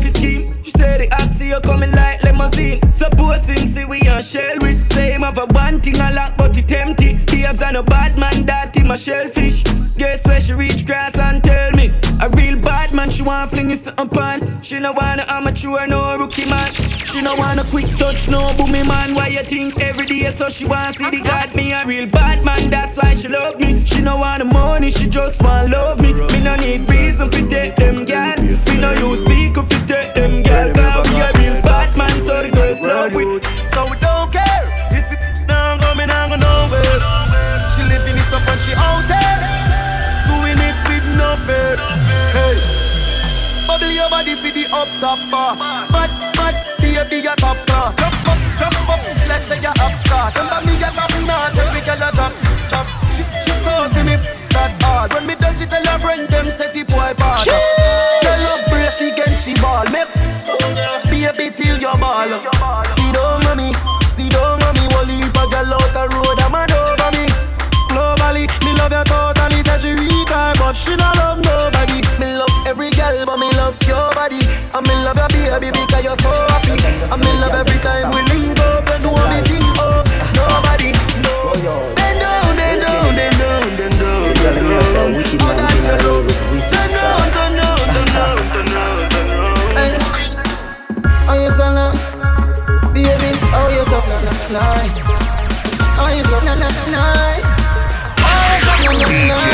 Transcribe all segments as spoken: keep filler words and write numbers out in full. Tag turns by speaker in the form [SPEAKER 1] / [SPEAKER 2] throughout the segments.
[SPEAKER 1] fi scheme. She say the oxy you coming like limousine. Suppose him see we on shell with. Say him have a one thing a lock but it empty. He has a bad man that him a shellfish. Guess where she reach grass and tell me a real bad man she want fling it upon. She no wanna amateur no rookie man. She no wanna quick touch no boomy man. Why you think every day so she want see the God? Me a real bad man, that's why she love me. She no want the money, she just want love me. Me no need reason fi take them girls. Me no use speaker fi take them girls. Cause we a real bad man, so the girls love with.
[SPEAKER 2] So we don't care if it now go, me now go nowhere. She living it up and she out there doing it with no fear. Hey, bubble your body for the up top boss. Fat, fat, baby, your top class. Jump up, jump up, let's say you're up class. Remember me, get up now, every girl a drop, drop. She, she call for me that hard. When me touch it, tell her friend them set it boy bad. Tell her brace against the ball. Me, baby, till your ball. See down mommy, see down mommy. Wally if a girl out the road, I'm an over me. Globally, me love you totally. Say she retry, but she not love nobody. Me love every girl, but me love your body. I me love your baby because you're so happy. I me love every time we link up. You know me think oh nobody knows. Then down, then down, then down, then down, then down. Oh that you know. Then down, then down, then down, then down, then down. Oh you so now, baby. Oh you so na na na. Oh you so na na na. Oh you so na na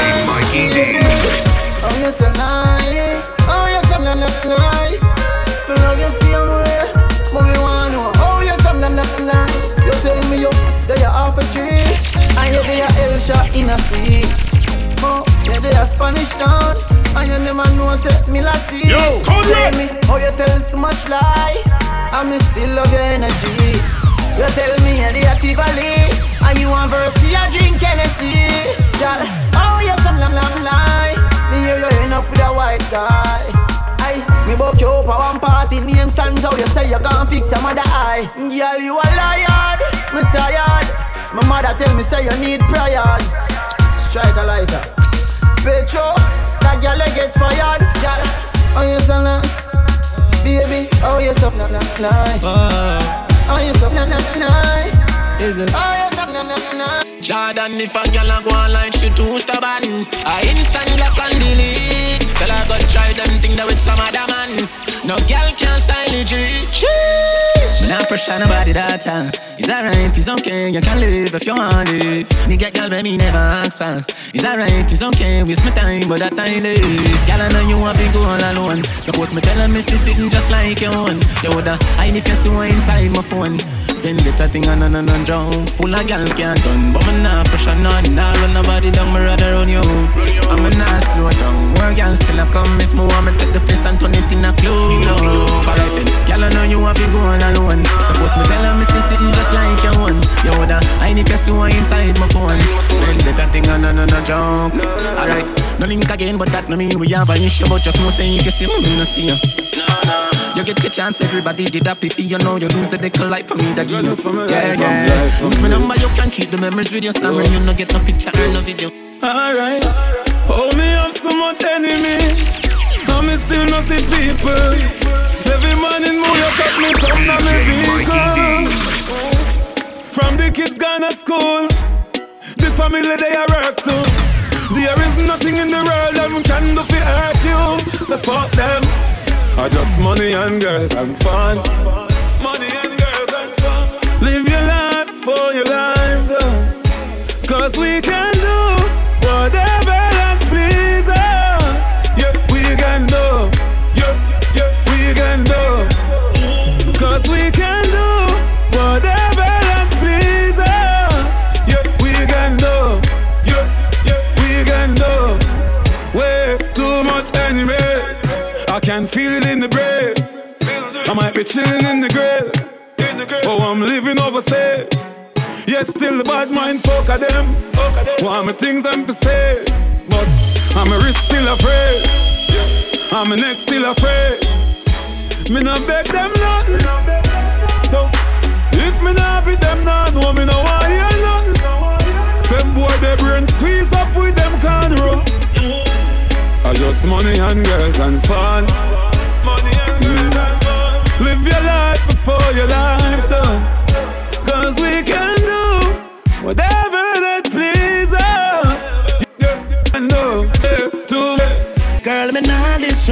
[SPEAKER 2] na. Oh you so nice. Oh you so na na na. To love you same way, but me want know. Oh you so na na na. You tell me you, that you half a tree. And you be a El shot in a sea. Oh, you be a Spanish town. And you never know say me la see.
[SPEAKER 3] Yo, come
[SPEAKER 2] tell me, oh you tell so much lie. And me still love your energy. You tell me you're the active alley. And you want verse, you drink Hennessy. Girl, oh you some long long lie. Me hear you end up with a white guy. Aye, me book you up a one party. Name stands out, you say you gon' fix your mother eye. Girl, you a liar, me tired. My mother tell me say you need prayers. Strike a lighter. Petro, that girl you get fired. Girl, oh you so long. Baby, oh you so long lie. Oh you so long lie. Is it? Oh you so long lie.
[SPEAKER 4] Jordan, if a girl a go online, she too stubborn. I instant block and delete. Tell her go try them thing that with some other man. No girl can style it, cheese.
[SPEAKER 5] Not pressure nobody that time. It's alright, it's okay, you can live if you want live. Me get girl but me never ask for. It's alright, it's okay, waste my time, but that time is. Girl I know you want to go all alone. Suppose me tell her me see sitting just like your own. You woulda, I need to see what inside my phone. Vendetta thing on and on and drown. Full of gal can't done, but me nah pressure none. Nah run nobody down, me rather run you out. I'm a nah slow down. More gal still a come if me want me take the place and turn it in a clue. Alright then, gal I know you want to go all alone. Suppose me tell her me see sitting just like your own. You woulda, I need to see what inside my phone. Vendetta thing on and on and drown. Alright, no link again, but that no mean we have an issue. But just know say if you see me, me no see you. You get the chance, everybody did that if you know you lose the decal life for me that you yeah, yeah. Lose my number, you can keep the memories with your summer. You no get no picture or no video.
[SPEAKER 6] Alright, hold me up so much enemy. Now me still no see people. Every morning move you cut me come down my vehicle. From the kids gone to school, the family they are work too. There is nothing in the world that can do for hurt you. So fuck them. I just money and girls and fun. Money and girls and fun. Live your life for your life, though. Cause we can do whatever that please us. Yeah, we can do. Yeah, yeah, we can do. Cause we can do whatever that please us. Yeah, we can do. Yeah, yeah, we can do. Way too much anyway. I can feel it in the breeze. I might be chilling in the grill. Oh, I'm living overseas. Yet still the bad mind folk of them. Want my things and for sales. But I'm a wrist still a phrase. I'm a neck still a phrase. Me not beg them none. So if me not be them none, no me no want hear none. Them boy their brain squeeze up with them cornrow. I just money and girls and fun. Money and girls and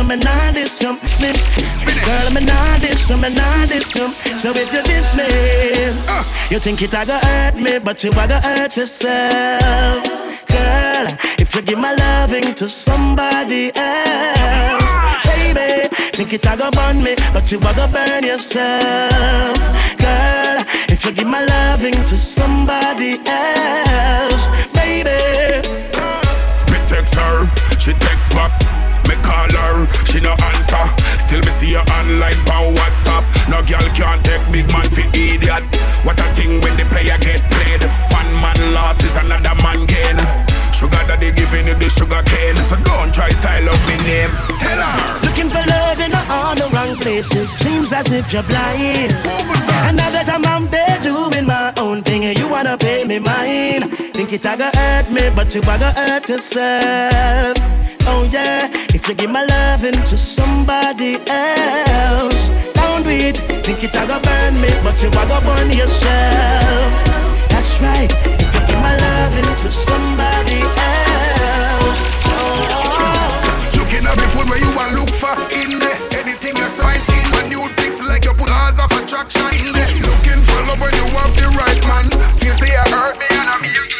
[SPEAKER 1] me nah diss you, slip. Girl, me nah diss you, me nah diss you. So if you diss me, uh. you think it a go hurt me, but you a go hurt yourself. Girl, if you give my loving to somebody else, baby, think it a go burn me, but you a go burn yourself. Girl, if you give my loving to somebody else, baby.
[SPEAKER 3] Me text her, she text back. Me call her, she no answer. Still me see her online on WhatsApp. No girl can't take big man for idiot. What a thing when the player get played. One man lost is another man gain. Sugar daddy giving you the sugar cane. So don't try style up me name. Tell her.
[SPEAKER 1] Looking for love in all the wrong places. Seems as if you're blind. And now that I'm out there doing my own thing, and you wanna pay me mine. Think it a go hurt me, but you a go hurt yourself. Oh yeah, if you give my loving to somebody else, don't do it. Think it a go burn me, but you a go burn yourself. That's right. If you give my loving to somebody else, oh.
[SPEAKER 3] Looking at me food where you want look for in there. Anything you sign in when you picks like you put hands of attraction in there. Looking for love when you have the right man. Feel say you hurt me and I'm here.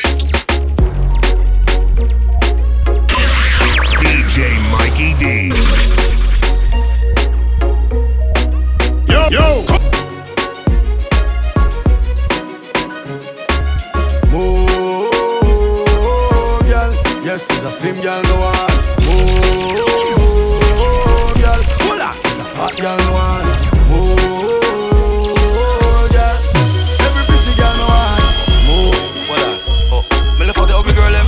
[SPEAKER 3] D J Mikey D. Yo, yo.
[SPEAKER 2] Move, girl. Yes, it's a slim girl, no one. Move, girl. Hola, it's a fat girl, no one. Move, girl. Every pretty girl, no one. Move.
[SPEAKER 7] Hola. Oh, me look for the ugly girl, them.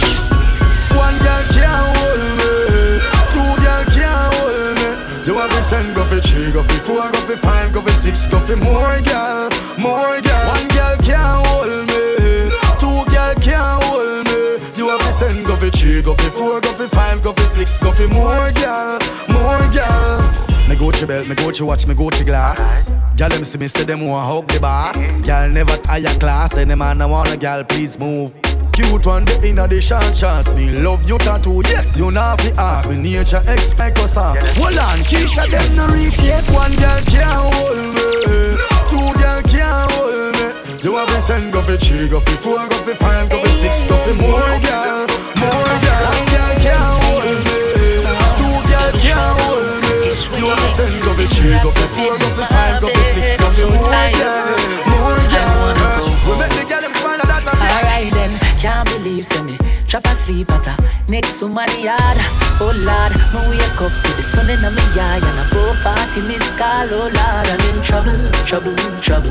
[SPEAKER 2] One girl can't hold me. Two girl can't hold me. You have to send, go for three, go for four, go for five, go for six, go for more girl, more girl. One girl can't hold me. Two girl can't hold me. You have to send, go for three, go for four, go for five, go for six, go for more girl, more girl. Me Gucci belt, me Gucci watch, me Gucci glass. Girl them see me say them want hug the boss. Girl never tire class, any man I want a girl please move. Cute one day inna the short shots. Me love you tattoo, yes you not fi ask. Me nature expect us off. Hold on, Keisha them no reach yet. One girl can't hold me. Two girl can't hold me. You have to send go for three, go for four, go for five, go for six, go for more girl, more girl. One girl can't hold me. Two girl can't hold me. You have to send go for three, go for four, go for five, go for six, go for more girl, more girl. We make the girl them smile at that.
[SPEAKER 8] Alright then. Can't believe say me drop asleep at a next to my yard. Oh Lord, me wake up to the sun in my yard and above forty miss call. Oh Lord, I'm in trouble, trouble, trouble.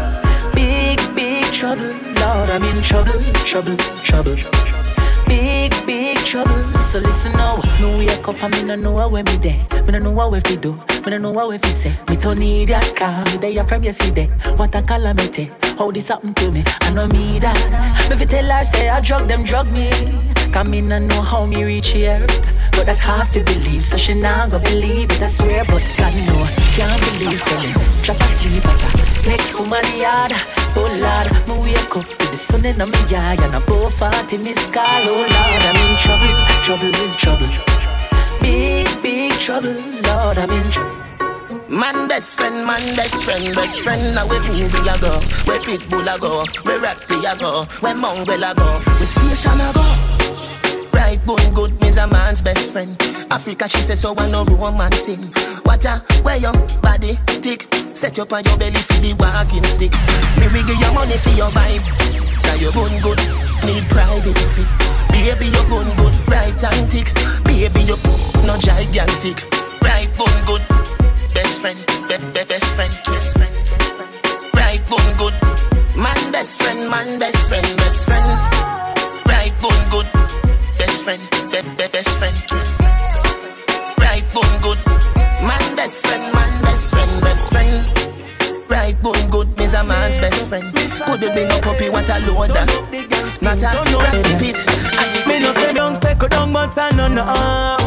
[SPEAKER 8] Big, big trouble, Lord, I'm in trouble, trouble, trouble. Big, big trouble. So listen now, me wake up and me no know where me there. Me no know what we fi do, me no know what we fi say. Me don't need that car, me there from yesterday. What a calamity. How this happen to me? I know me that. Me fi tell her say I drug them drug me. Come in and know how me reach here. But that hard to believe, so she not go believe it. I swear, but God know can't believe so me drop asleep at her next to my yard. Oh Lord, me wake up to the sun in my yard and above forty miss call. Oh Lord, I'm in trouble, trouble, trouble. Big, big trouble, Lord, I'm in trouble.
[SPEAKER 9] Man best friend, man best friend, best friend. Now we movie a go, we Pitbull a go, we Ratty a go, we Mongrel a go, we Station a go. Right bone good, me's a man's best friend. Africa she say so I no romancing. What a where your body tick. Set up on your belly for the walking stick. Me we give you money for your vibe. Now you gun good, need privacy. Baby you gun good, right and tick. Baby you no gigantic. Right bone good. Best friend, be, be, best friend, best friend, right bone good. Man best friend, man best friend, best friend. Right bone good. Best friend, be, be, best friend. Right bone good. Man best friend, man best friend, best friend. Right bone good, me's a man's best friend. Could you bring a puppy, what a loader? Not a rabbit pit.
[SPEAKER 1] Me no say don't say go down, but I no no.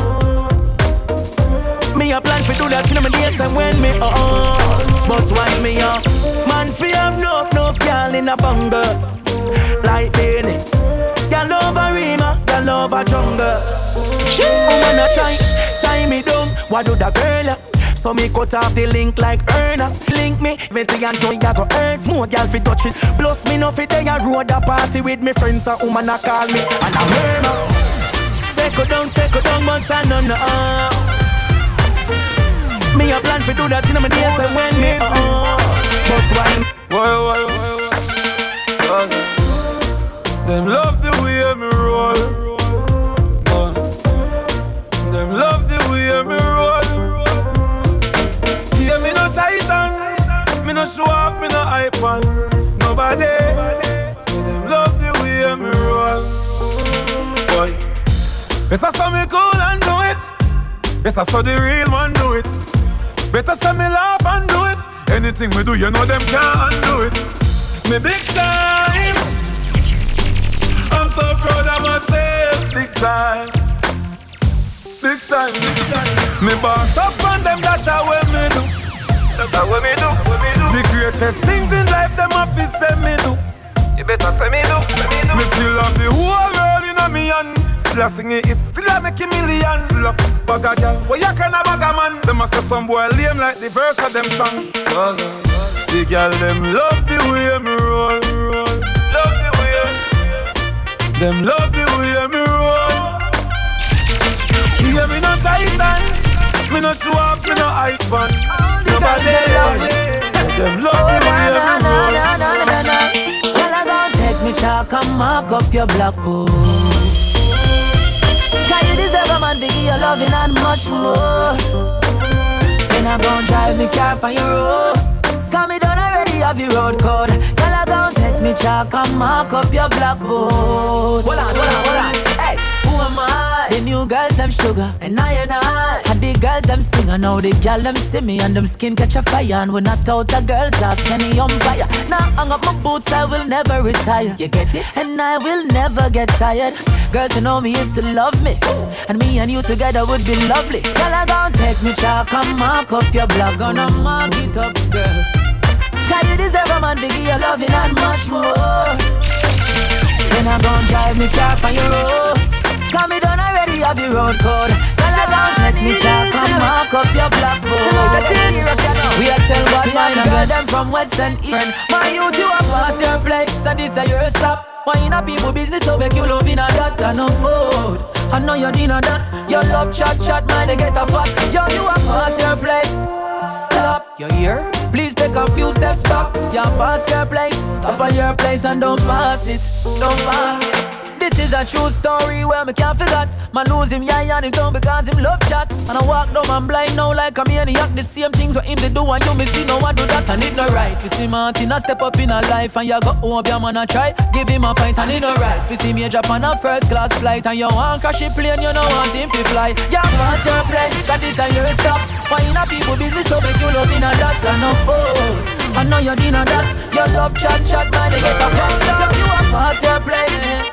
[SPEAKER 1] Me a plan for do that in my days and when me up. But why me up? Man fi have no no girl in a bungle like Benny. Girl over Rima, girl your love a jungle. Woman a try, tie me down. What do the girl? So me cut off the link like Erna. Link me, twenty and twenty I go hurt. More girl fi touch it. Plus me no fi dey a road a party with me friends. A woman a call me and a murmur. Second down, second down, but I no no. Me a plan fi do that in my days and when me uh. But why?
[SPEAKER 6] Why, why, why, why? Them love the way me roll. Uh. Them love the way me roll. Yeah, me no titan, me no show off, me no hype on nobody. So them love the way me roll. Boy, yes I saw me cool and do it. Yes I saw the real one do it. Better say me laugh and do it. Anything we do, you know them can't undo it. Me big time. I'm so proud of myself. Big time. Big time, big time. Me boss up on them, that's how we me do. That's how we me do, we me do. The greatest things in life, them have to say me do. You better say me do, say me do. Me still have the whole world in a me hand. Still a sing it, it still a make a million. Still a bag a girl, well you can a bag a man. Them a say some boy lame like the verse of them song. The girl them love the way me roll, roll. Love the way. Them love the way me roll. Yeah, me no titan, me no show up, me no hype on nobody. So them love me when you roll.
[SPEAKER 8] Well, I gon' take me chalk and mark up your blackboard. Cause you deserve a man to give you loving and much more. Then I gon' drive me car on your road. Cause me done already have your road code. Well, I gon' take me chalk and mark up your blackboard. Hold on, hold on, hold on. Hey, who am I? The new girls, them sugar, and I and I. And the girls, them sing, and now the girl, them see me, and them skin catch a fire. And when I thought the girls ask any umpire. Now hang up my boots, I will never retire. You get it? And I will never get tired. Girl, to know me is to love me. And me and you together would be lovely. Girl, I gon' take me chalk and mark up your block. Gonna mark it up, girl. Cause you deserve a man to give you loving and much more. Then I gon' drive me car on your road. Cause me done already have your road code. Girl, I gon' take me chalk and mark up your blackboard. We are tell what man and girl them from Western East. My youth, you are pass your place. So this is your stop. Why in a people business, so make you love in a that and no food. I know you dinner that. Your love chat chat, man, they get a fat. Yo, you are pass your place. Stop, you hear? Please take a few steps back. You pass your place. Stop at your place and don't pass it. Don't pass it. This is a true story where me can't forget. Man lose him, yeah, and him down because him love chat. And I walk down and blind now like a maniac. The same things what him they do and you me see no one do that and it no right. You see Martin a step up in a life and you go home your man a try. Give him a fight and it no right. You see me drop on a first class flight and you want crash a plane, you don't want him to fly. Yeah, pass your place, that is a your stop. Why in a people business so make you love in a that and no fool. I know you dinner that. Your love chat chat man they get a phone down. You a pass your place.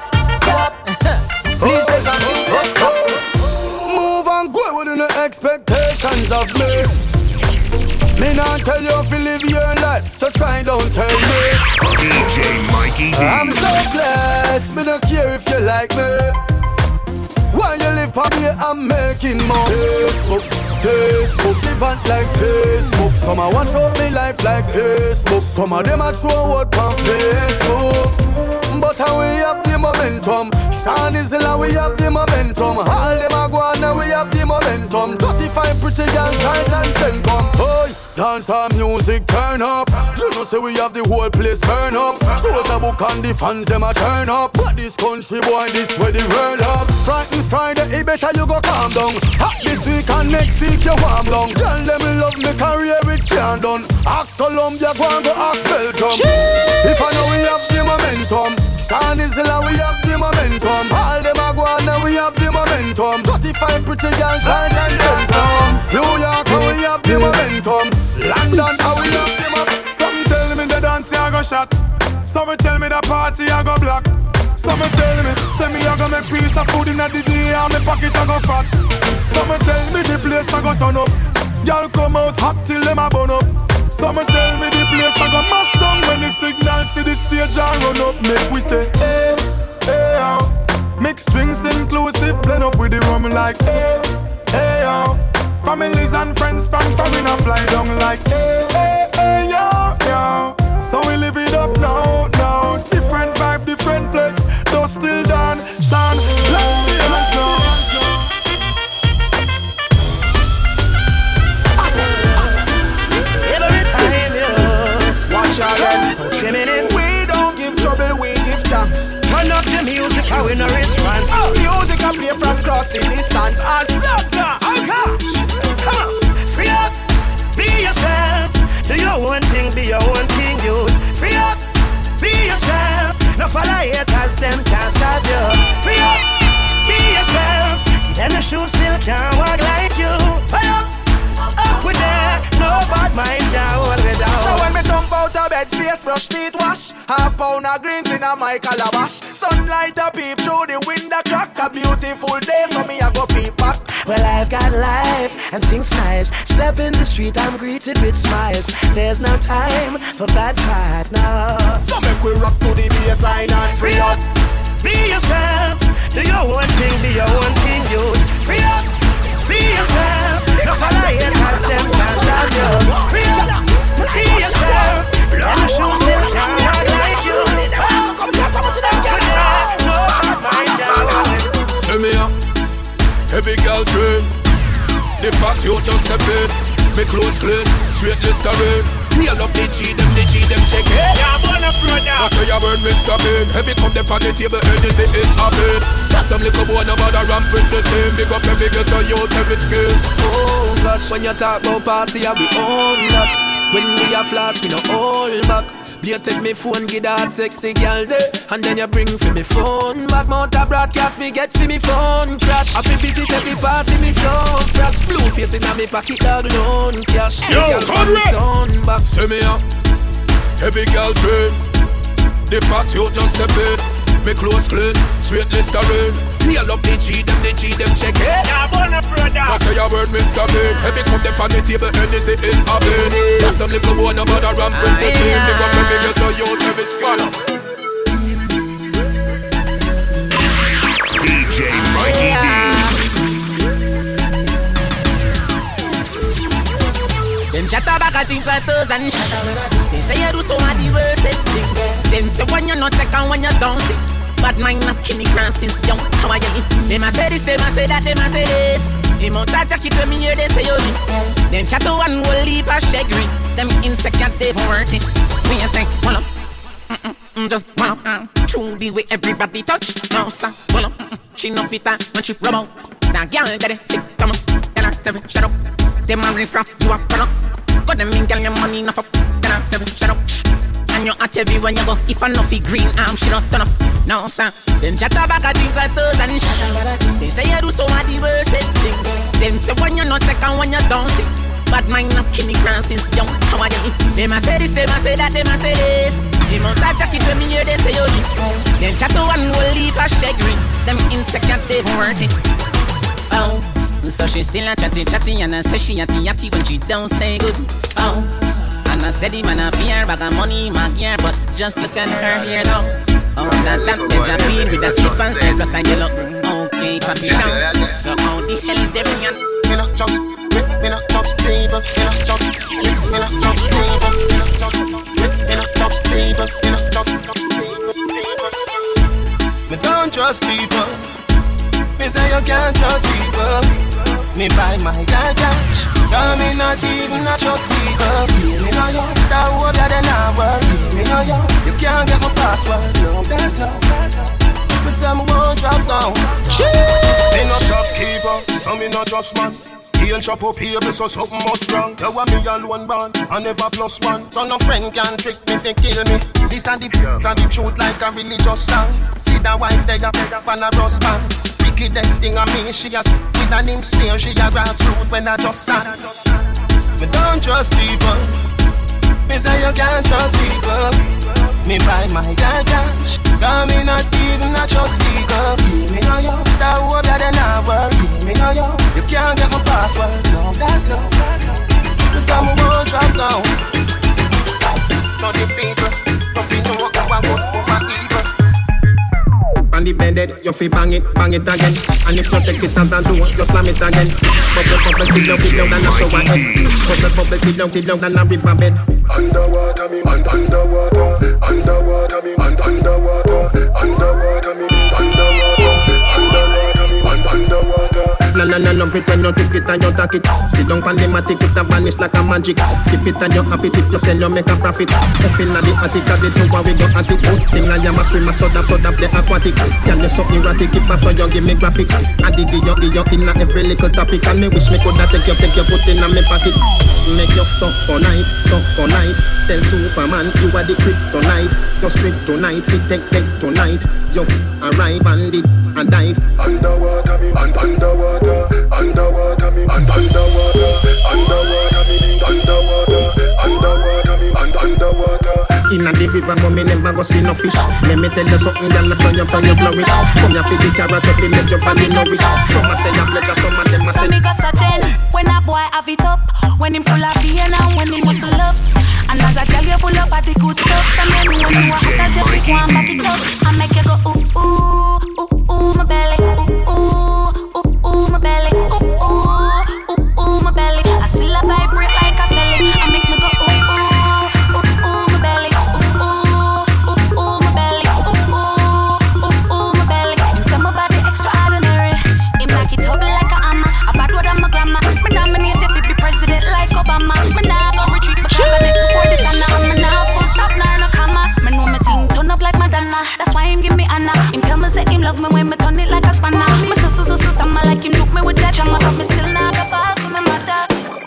[SPEAKER 8] Please take a few steps back.
[SPEAKER 2] Move and go within the expectations of me. Me not tell you if you live your life, so try don't tell me.
[SPEAKER 3] D J Mikey D.
[SPEAKER 2] I'm so blessed, me don't care if you like me. While you live for me, I'm making more. Facebook, Facebook, living like Facebook. Some I want show me life like Facebook. Some of them I throw out on Facebook. But how we have the momentum. Sean is in we have the momentum. All them a go on and we have the momentum. thirty-five pretty girls shine and send come. Boy, dance our music turn up. You know say we have the whole place burn up. Shows a book and the fans them a turn up. But this country boy, this where the world up. Frightened Friday, it better you go calm down. Hot this week and next week you warm down. Tell them love me career it can't done. Ask Colombia, go and go ask Belgium. If I know we have the momentum. Sean is in we have the momentum. All them a go on and we have the momentum. thirty-five pretty girls shine and send some. New York and we have the momentum. London and we have the momentum.
[SPEAKER 6] Some tell me the dance I go shot. Some tell me the party I go block. Some tell me, say me I go make piece of food in the day and me pocket I go fat. Some tell me the place I go turn up. Y'all come out hot till them a burn up. Some tell me the place I go mash down when the signal see the stage I run up. Make we say, hey, hey, how,
[SPEAKER 2] Mixed drinks inclusive, blend up with the rum like hey, hey yo. Families and friends from foreign a fly down like hey, hey, hey yo, yo. So we live it up now, now. Different vibe, different flex. Though still done, shine, let the hands now.
[SPEAKER 1] Every time you
[SPEAKER 9] Watch out then. We don't give trouble, we give thanks.
[SPEAKER 1] turn up the music, how we no response.
[SPEAKER 9] Oh, music I play from cross the distance. I stop now. Oh gosh.
[SPEAKER 1] Come on, free up, be yourself. Do your own thing, be your own thing, you. Free up, be yourself. No follow haters, them can't stop you. Free up, be yourself. Then the shoes still can't walk like you. Free up, up with that. No bad mind can't hold me down.
[SPEAKER 9] So when me jump out of bed, face brush, teeth wash. Half pound of greens in a my calabash. Sunlight a peep through the window crack. A beautiful day, so me a go peep back.
[SPEAKER 1] Well, I've got life and things nice. Step in the street, I'm greeted with smiles. There's no time for bad vibes, no.
[SPEAKER 9] So make we rock to the bassline and free up.
[SPEAKER 1] Be yourself, do your own thing, be your own thing, you. Free up, be yourself. No follow haters, them can't stop you. Free up, be yourself. And the shoes still can't walk like you. Come say something to them, get it. No bad mind, can't hold it.
[SPEAKER 3] Tell me up, heavy girl train. The fact you just step in, me clothes clean, straight Listerine. Me a love the G, them the G, them check it.
[SPEAKER 1] Yeah, I'm on a brother.
[SPEAKER 3] That's why you burn Mister Bean. Heavy cup them on the table, and you say it happen. That's some little boy, no bother ramp with the team. Big up every girl to youth, every skill.
[SPEAKER 10] Oh gosh, when you talk about party, I be on that. When we a flash, we no hold back. You take me phone, get that sexy girl there, and then you bring for me phone back. Mount a broadcast, me get for me phone crash. I feel busy, take me party, me so fresh. Blue face in me pocket, dog loan cash.
[SPEAKER 3] Yo, Conrad!
[SPEAKER 10] Back.
[SPEAKER 3] Send me up, heavy girl train. The fact you just step in, me clothes clean, straight Listerine. Me a love the G, them the G, them check it.
[SPEAKER 1] Yeah, I'm on a brother.
[SPEAKER 3] That's why you burn Mister Bean. Heavy cup them on the table, and you say it happen. That's some little boy, no bother ramp with the team. Big up every girl to youth, every skill. D J Mikey D.
[SPEAKER 5] Them chat about things like those and they say you do so many diverse things. Them say when you're not taking, when you don't see. Bad mind not kill me grand since young. How are you? Them a say this, them a say that, them a say this. Them out a jacket when me hear they say you leave. Them chat to one will leave a shaggy. Them insecure they worth it. Me a think, hold up, mm-mm, just hold up. Uh, True the way everybody touch. No sir, hold up, mm-mm. She no fit that when she rub out. That girl get it sick, come on. Then I seven, shut up. Them a riff raff, you a run up. Got them in girl your money enough up. Then I seven, shut up. And you at every when you go. If I know fi green arm, she not turn up. No sir. Them chat about things like those and shit. They say you do so many diverse things. Them say when you not take and when you don't see. Bad mind not kill me grand since young. How are you? Them a say this, them a say that, them a say this. Them out a jacket when me hear they say you leave. Them chat to one will leave a shaggy. Them insecure they worth it. Oh. So she still a chatty chatty and I say she a yatty when she don't stay good. Oh. And I said him and I fear bag of money my gear, but just look at her here though. Oh, that that there's a bean with a slip and slip plus and you look okay, papi down. So how the hell them yan?
[SPEAKER 9] Me not just, me, me not just people. Me not just, me, me not just people. Me not just, me, me not just people. Me not just, just people, people.
[SPEAKER 2] Me don't trust people. Me say you can't trust people. Me buy my car cash. Cause me not even a trust people. Me know you, that hope that they not work. Me know you, you can't get my password. No, that, no, that, no. Me say me won't drop down.
[SPEAKER 11] Me no shopkeeper, and me no just man. He ain't chop up here, so something must wrong. You want me alone born, I never plus one. So no friend can trick me, fi kill me. This and the and the truth like a religious song. See that wife they got on a rust band. Wickedest thing on me, she has with a name smear. She a grassroots when I just sang.
[SPEAKER 2] Me don't trust people. Me say you can't trust people. Me buy my car cash. Cause me not even a trust people. Me know you, that hope that they not work. Me know you, you can't get my password. No, that, no, that, no. Me say me won't drop down.
[SPEAKER 11] To the people, must be know how I good over evil.
[SPEAKER 9] On the bed
[SPEAKER 11] dead, you fi bang it, bang it again. And if you take it as a door, you slam it again. Bubble, bubble, till you feel down and a shower head. Bubble, bubble, till you feel down and a river bed.
[SPEAKER 12] Underwater me, un- underwater, underwater me, un- underwater, underwater me, underwater, underwater me, un- underwater.
[SPEAKER 11] La la la love it when you take it and you take it. Sit down pan the matic, it a vanish like a magic. Skip it and you happy if you sell, you make a profit. Up in the attic, cause it know we go at it. Thing I am a swimmer, so that, so that the aquatic. Can you so erratic, if I saw you give me graphic. I dig you, dig you in every little topic. And me wish me coulda take you, take you, put in a me pocket. Make you so for night, so for night. Tell Superman you are the kryptonite. You strip tonight, fit take, take tonight. You arrive and it and dive.
[SPEAKER 12] Underwater me, un- underwater, underwater me, un- underwater, underwater me, underwater, underwater me, un- underwater.
[SPEAKER 11] Inna the river, but me never go see no fish. Let me tell you something, girl, so you, so you flourish. Come here for the carrot, if you make your family nourish. Some a say a pleasure, some of them a say.
[SPEAKER 13] So me go so then, when a boy have it up, when him full of pain and when him muscle up. And as I tell you full up of the good stuff, the men when you are hot as you pick one back it up. I make you go ooh ooh, ooh ooh my belly, ooh ooh, ooh ooh my belly, ooh ooh, ooh ooh my belly. I still a vibrate like a celly. I make me go ooh ooh, ooh ooh my belly, ooh ooh, ooh ooh my belly, ooh ooh, ooh ooh my belly. You say my body extraordinary. Him knock it up like a hammer. A bad word on my grandma. Me nominate if it be president like Obama. Me nah go retreat because I did before this and now. Me nah full stop nor no comma. Me know me ting turn up like Madonna. That's why him give me Anna. Him tell me say him love me when me turn it like a spanner. Me so so so so stammer like him choke me with that drama. But me still nah go pass for me mother.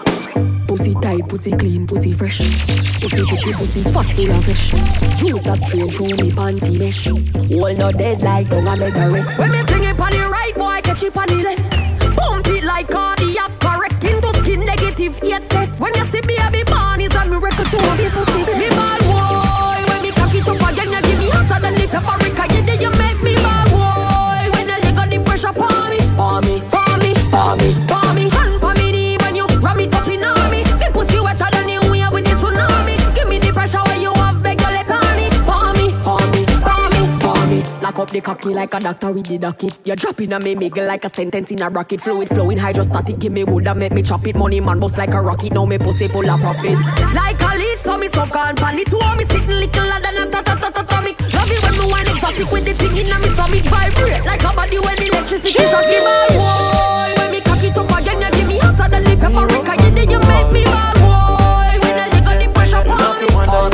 [SPEAKER 14] Pussy tight, pussy clean, pussy fresh. Pussy pussy pussy fat full of fish. Juice a strain through me panty mesh. All not dead like don't a mega rest. When me fling it on the right, boy catch it on the left. Pump it like cardiac arrest. Skin to skin negative eight test. When you see baby born is a miracle to me pussy. Me bad boy, when me cock it up again you give me hotter than the paprika. You did you make me bad boy. When you leg on the pressure for me, for me, for me, for me, for me. Hand for me knee when you ram it up in on me. Me pussy wetter than the wave with the tsunami. Give me the pressure where you have beg your let on it. For me, for me, for me, for me. Lock up the cocky like a doctor with the docket. You're dropping a me miggle like a sentence in a bracket. Fluid flowing hydrostatic. Give me wood and make me chop it. Money man bust like a rocket. Now me pussy full of profit. Like a leech so me suck on pan it. Two me sitting little than a ta ta ta ta atomic. Love it when me wine exotic with the thing in a me stomach. Vibrate like a body when electricity shock me bad boy. When me cock it up again you give me hotter than the paprika. You did you make me bad boy. When I leg on the pressure for me.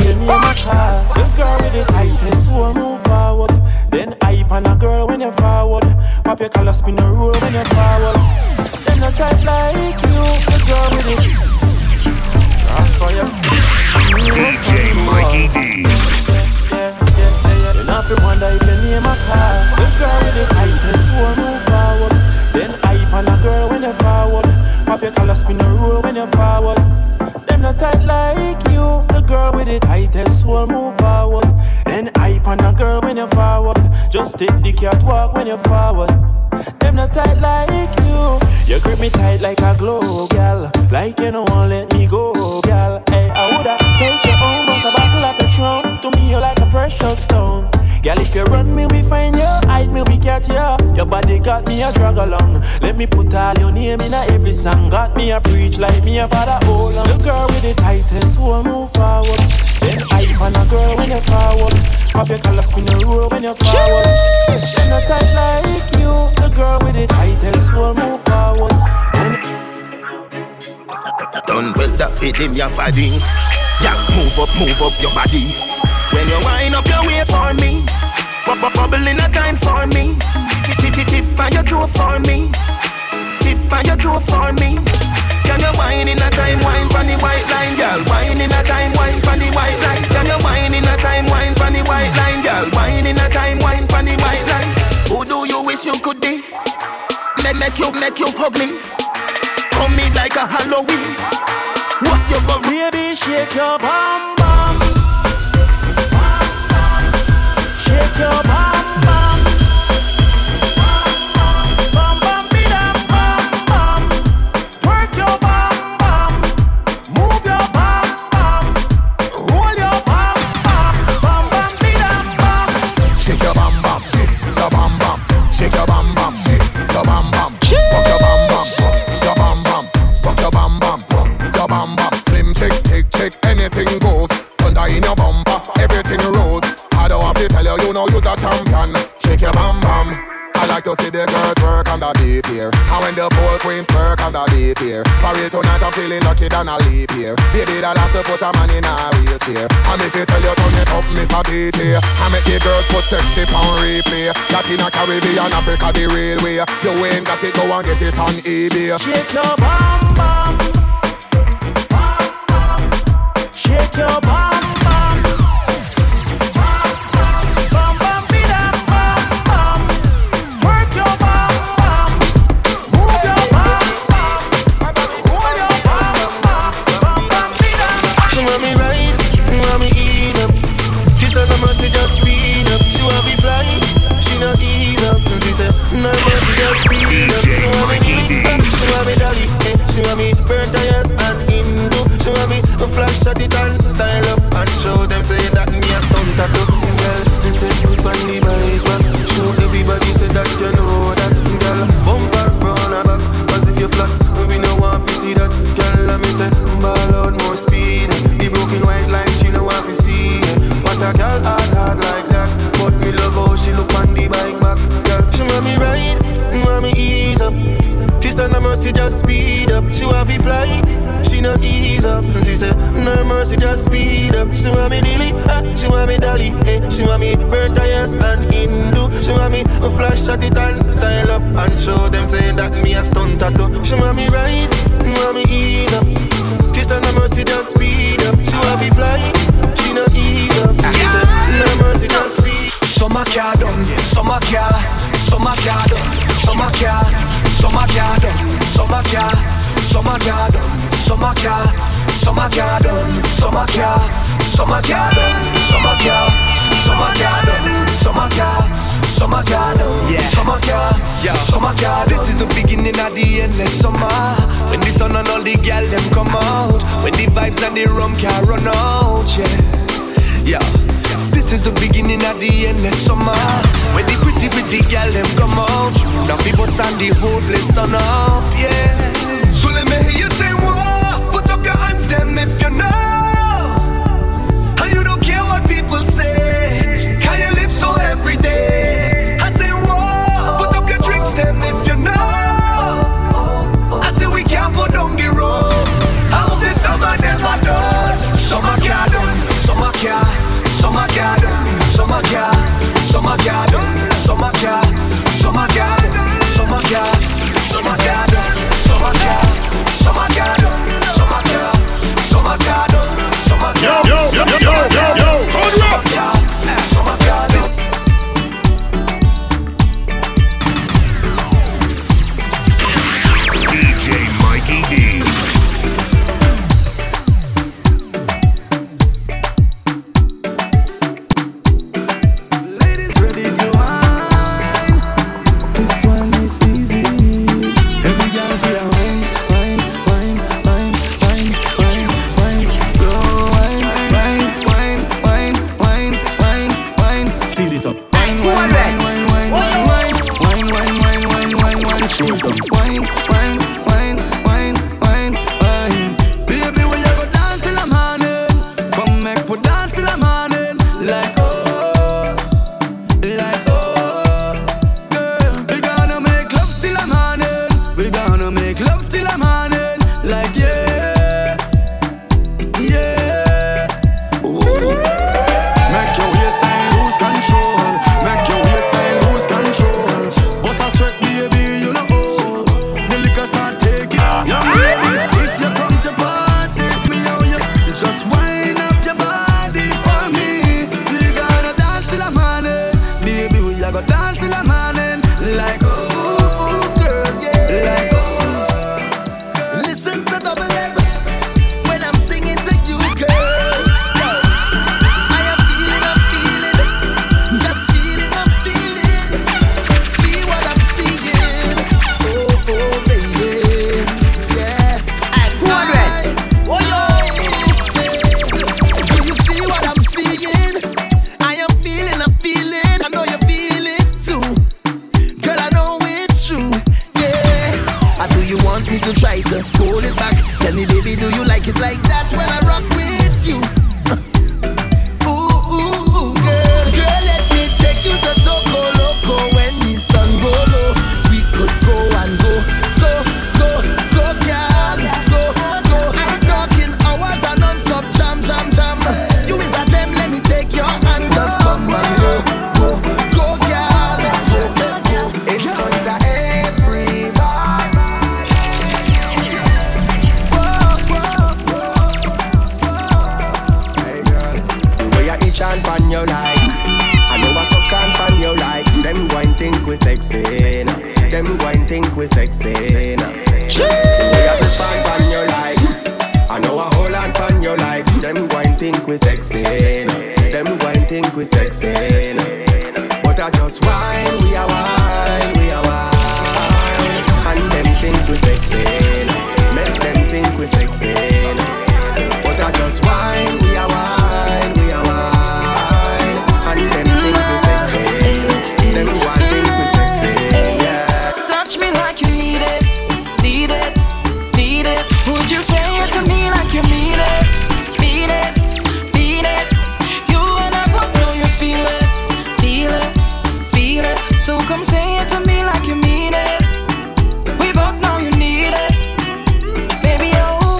[SPEAKER 15] This girl with the tightest will move forward. Then hype on a girl when you forward. Pop your collar, spin a roll when you forward. Then a tight like you, the girl with it. That's for you.
[SPEAKER 3] D J Mikey D.
[SPEAKER 15] Yeah, yeah, yeah, yeah. You not to wonder if you name a car. This girl with the tightest will move forward. Then hype on a girl when you forward. Pop your collar, spin a roll when you forward. Them not tight like you, the girl with the tightest will move forward. Then hype on a girl when you forward. Just take the catwalk when you forward. Them not tight like you. You grip me tight like a glove, gal. Like you don't want let me go, gal. Hey, I woulda take your own, but a bottle of Patron. To me, you're like a precious stone. Girl, if you run me, we find you. Hide me, we catch you. Your body got me a drag along. Let me put all your name in a every song. Got me a preach like me a father hold on. The girl with the tightest will move forward. Then hype on a girl when you forward. Pop your collar, spin a roll when you forward. Then not tight like you. The girl with the tightest will move forward. Then
[SPEAKER 9] done well that fit in your body. Yeah, move up, move up your body. When you wind up your waist for me, pop up bubble in a time for me. Tip tip tip tip on your toe for me. Tip on your toe for me. Can you wine in a time, wine pon the white line, girl? Wine in a time, wine pon the white line. Can you wine in a time, wine pon the white line, girl? Wine in a time, wine pon the white line. Who do you wish you could be? Make make you, make you hug me. Come me like a Halloween. What's your bum?
[SPEAKER 15] Baby, shake your bum bum. Shake your bum bum. Bum bum be dum bum bum. Work your bum bum. Move your bum bum. Roll your bum bum. Bum bum be dum bum.
[SPEAKER 12] Shake your bum bum, shake your bum bum.
[SPEAKER 11] than a leap year. Baby, that has to put a man in a wheelchair. And if you tell you turn it up, miss a beat here. I make the girls put sexy pound replay. Latin and Caribbean, Africa the real way. You ain't got it, go and get it on eBay.
[SPEAKER 15] Shake your bum bum, bum bum. Shake your bum bum, bum bum bidam bum bum. Work your bum bum, move your bum bum, hold your bum bum, bum bum bidam.
[SPEAKER 2] She want me right, she want me ease up. She said no mercy, just speed up. She want me fly, she not ease up. She said no mercy, just speed up. She want me deep, she want me dolly, eh. She want me burn tires and Hindu. She want me to flash at it and style up and show them say that me a stunt tattoo. Girl, she said you on the bike back. Show everybody say that you know that. Girl, bumper round her back. Cause if you flat, we no want to see that. Girl, let me say ball out more speed. The broken white line she no want to see. What a girl hard hard like that. But me love how she look on the bike back. Girl, she want me ride, want me ease up. She said no mercy, just speed up. She want me fly, she no ease up. She said no mercy, just speed up. She want me dilly, ah, she want me dolly, eh. She want me burn tires and Hindu. She want me to flash at it and style up and show them say that me a stunt tattoo. She want me ride, want me ease up. She said no mercy, just speed up. She want me fly, she no ease up. She said no mercy, just speed.
[SPEAKER 1] Summer car done, summer car, summer car done, summer car, summer car done, summer car, summer car done, summer car, summer car done, summer car, summer car done, summer car, summer car done, summer car, summer car done, yeah, summer car, yeah, summer car. This is the beginning of the endless summer. When the sun and all the girl them come out, when the vibes and the rum can run out, yeah, yeah. This is the beginning of the endless summer. When the pretty, pretty girl them come out, now people stand the whole place turn up, yeah. So let me hear you say, whoa, put up your hands them if you know. And you don't care what people say, can you live so every day? I say, whoa, put up your drinks them if you know. I say we can't put down the road. I hope this summer never done. Summer car done, summer car. Summer garden, summer garden, summer garden, summer garden, summer garden, summer garden, summer garden, summer garden, summer garden, summer garden, summer garden, summer garden. Yo, yo, yo, yo, yo, yo, hold up. Summer garden.
[SPEAKER 3] D J Mikey D.
[SPEAKER 9] Go, go, go, girl, go, go. I
[SPEAKER 16] we sexy now. We have to find on your life. I know a whole lot on your life. Them go and think we sexy now. Them go and think we sexy now. But I just whine, we are wine, we are wine. And them think we sexy now. Make them think we sexy now. But I just whine, we are wine, we are wine. And them think we sexy. Them go and think we sexy, yeah.
[SPEAKER 8] Touch me like you need it, need it, need it. Would you say it to me like you mean it, mean it, mean it? You and I both know you feel it, feel it, feel it. So come say it to me like you mean it. We both know you need it, baby. Oh,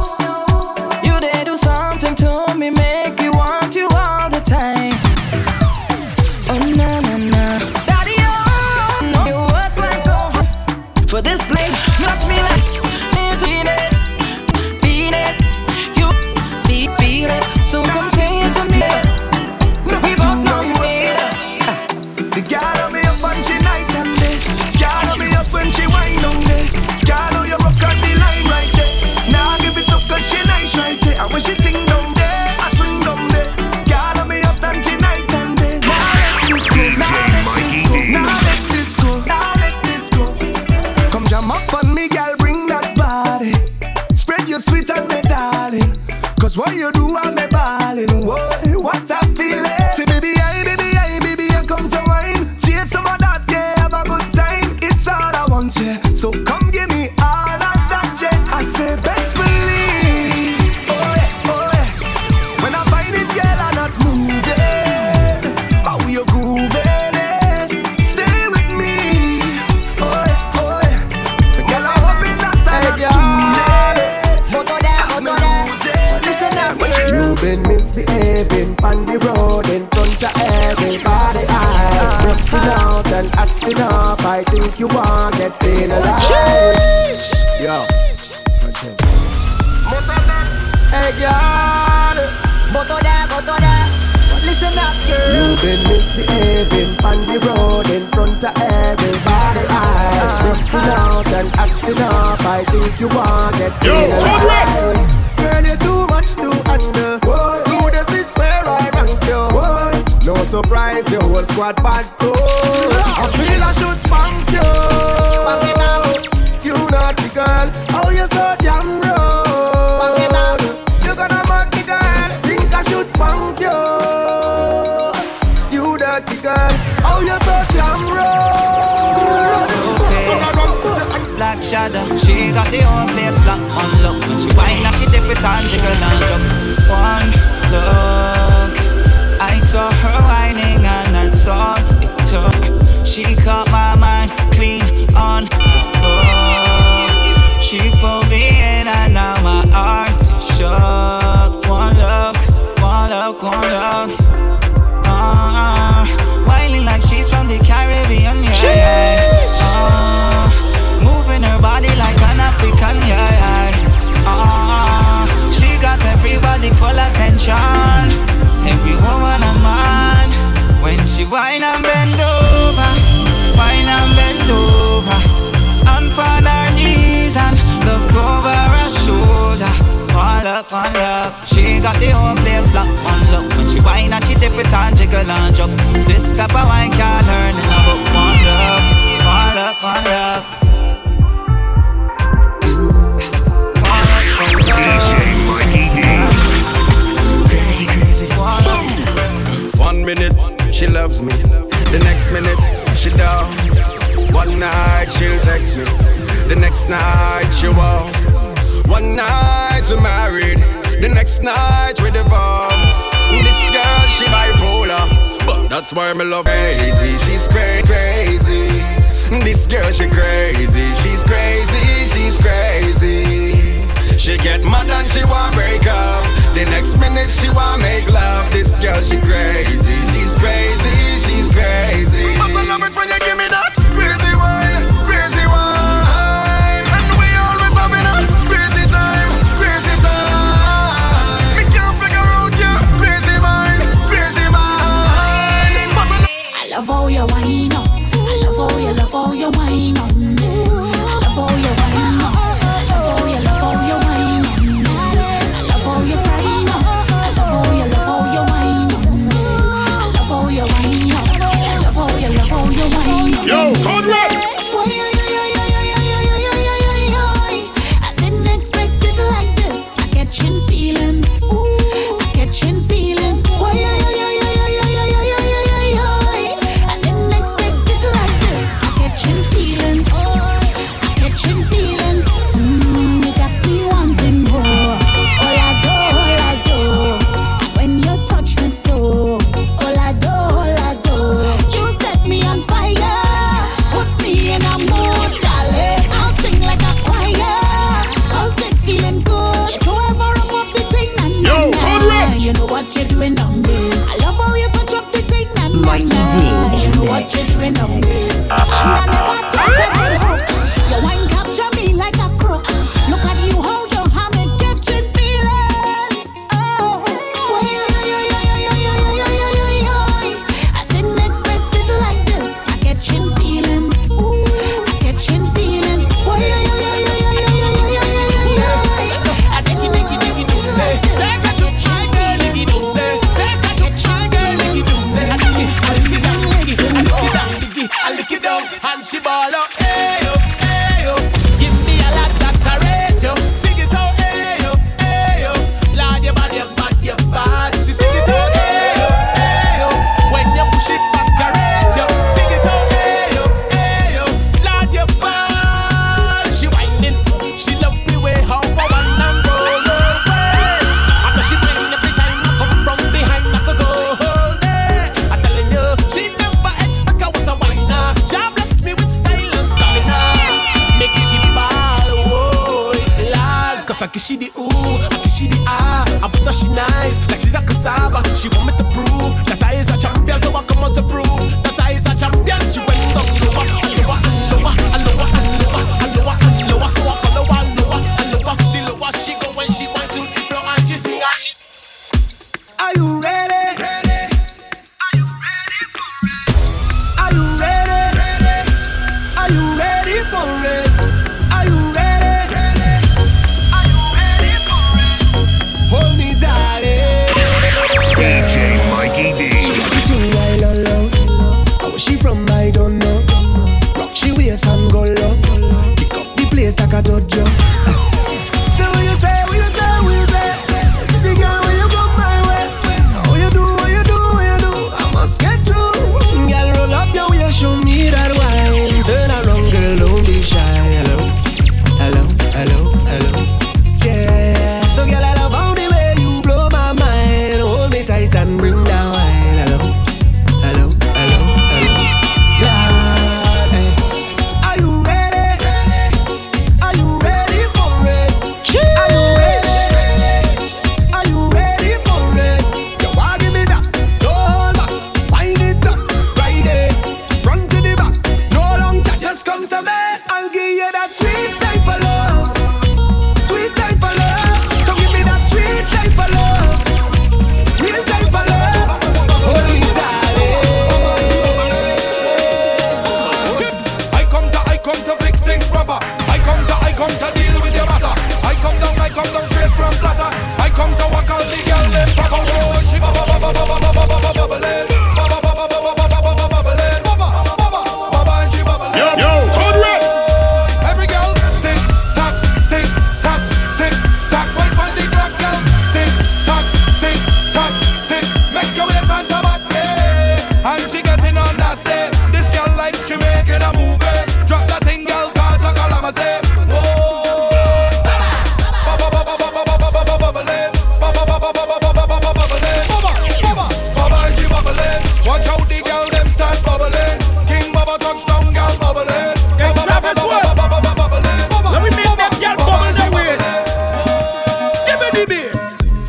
[SPEAKER 8] you did do something to me, make me want you all the time. Oh na na na, daddy, oh no, you work like over for this late. Touch me like beat it, beat it, you beat, beat it. So come say it to me. We both know you need it.
[SPEAKER 2] The girl on me up and she night and day. Girl on me up when she wine on day. Girl on you rock on the line right there. Now give it up 'cause she nice right there. And when she ting down there, I swing down there. Girl on me up and she night and day. Now let this go, now let this go, now let this go, now let this go. Come jam up on me, girl, bring that body. Spread your sweet and me darling. 'Cause what you do I'm me balling. Whoa, what I feel it. Say baby, I, baby, I, baby, I come to wine. Chase some of that, yeah, have a good time. It's all I want, yeah. So come give me all of that, yeah. I say best believe. Oh yeah, oh yeah. When I find it, girl, I'm not moving. How you grooving it? Stay with me. Oh yeah, oh yeah. So girl, I'm hoping that I'm not too late. I'm losing. Listen up, what you
[SPEAKER 16] You've been misbehaving on the road in front of everybody. I looking out and acting up. I think you want that pain alive. Yo, hey girl, listen up, girl. You've been misbehaving on the road in front of everybody. I looking out and acting up. I think you want that pain alive. Girl, you're too much to handle. You this is where I rank you. No surprise, your whole squad bad too. I feel I should spank you. You naughty girl, oh you so damn rude. You gonna mock me girl, think I should spank you. You dirty girl, oh you so damn rude.
[SPEAKER 5] Black shadow, she got the whole place locked on look. When she whine and she dip it and jiggle and jump. One look, I saw her whining and that's all it took. She caught my mind clean on oh. She pulled me in and now my heart is shook. One look, one look, one look. Uh, whining like she's from the Caribbean, yeah. Uh, moving her body like an African, yeah. Uh, she got everybody full attention. Every woman a man. When she whine and bend over, whine and bend over, and on her knees and look over her shoulder. One look, one look, she got the whole place locked. One look, when she whine and she dip it and jiggle and jump. This type of wine can't learn in a book. One look, one look, one look.
[SPEAKER 16] Crazy, crazy. One minute, she loves me. The next minute, she down. One night, she'll text me. The next night, she won't. One night, we're married. The next night, we're divorced. This girl, she bipolar, but that's why me love crazy. She's cra- crazy. This girl, she crazy. She's crazy, she's crazy. She get mad and she want break up. The next minute she want make love. This girl she crazy, she's crazy, she's crazy. But I love it when you give me that crazy wine, crazy wine. And we always having a crazy time, crazy time. Me can't figure out your crazy mind, crazy mind. But I,
[SPEAKER 17] I love how you whine up, I love how you love how you whine on me.
[SPEAKER 2] know she nice, like she's a cassava. She want me to prove that I is a champion, so I come out to prove that I is a champion. She went up lower, and lower, and lower, and lower, and lower, and lower, and lower. So I follow her lower, and lower. The lower she go when she went to the floor and she sing and she. Are you ready? Ready? Are you ready for it? Are you ready? Ready? Are you ready for it? Are you ready? Ready? Are you ready for it? Hold me, darling.
[SPEAKER 3] D J Mikey D.
[SPEAKER 2] Everything I love, love. Where she from, I don't know. Rock she waist and go low. Pick up the place like a dojo. So what you say, what you say, what you say? The girl when you come my way. What you do, what you do, what you do? I must get through. Girl, roll up your waist, show me that wine. Turn around, girl, don't be shy. Hello, hello, hello, hello. Yeah. So girl, I love how the way you blow my mind. Hold me tight and bring down wine. Hello, hello, hello, hello. Yeah. Hey. Are you ready? Are you ready for it? Are you ready? Are you ready for it? You want give me that? No hold back. Wind it up, right there, front to the back. No long chat, just come to me. I'll give you that sweet type of love, sweet type of love. Come give me that sweet type of love, real type of love. Hold me, darling.
[SPEAKER 17] I come to, I come to fix things proper. I come to, I come to deal with your matter. I come down, I come down straight from platter. I come to walk all the girl them proper. Oh, she bubble, bubble, bubble, bubble, bubble, bubbling. Bubble, bubble, bubble, bubble, bubble, bubbling. Bubble, bubble, bubble, and she bubbling.
[SPEAKER 3] Yo, yo, code red.
[SPEAKER 17] Every girl, tick tock, tick tock, tick tock. Wait on the clock, girl. Tick tock, tick tock, tick. Make your waist and sabat, yeah. And she getting on that step. This girl like she making a movie. Drop that thing, girl, cause a calamity. Whoa. Bubba, bubba, bubba, bubba, bubba, bubbling. Bubba, bubba, bubba, bubba, bubba, bubbling. Bubba, bubba, bubba, and she bubbling. Watch out the girl, them start bubbling. King Bubba touchdown, girl, bubbling. Bubba, bubba, bubba, bubba, bubba, bubbling. Bubba,
[SPEAKER 18] let me make that girl bubble their waist. Give me the bass.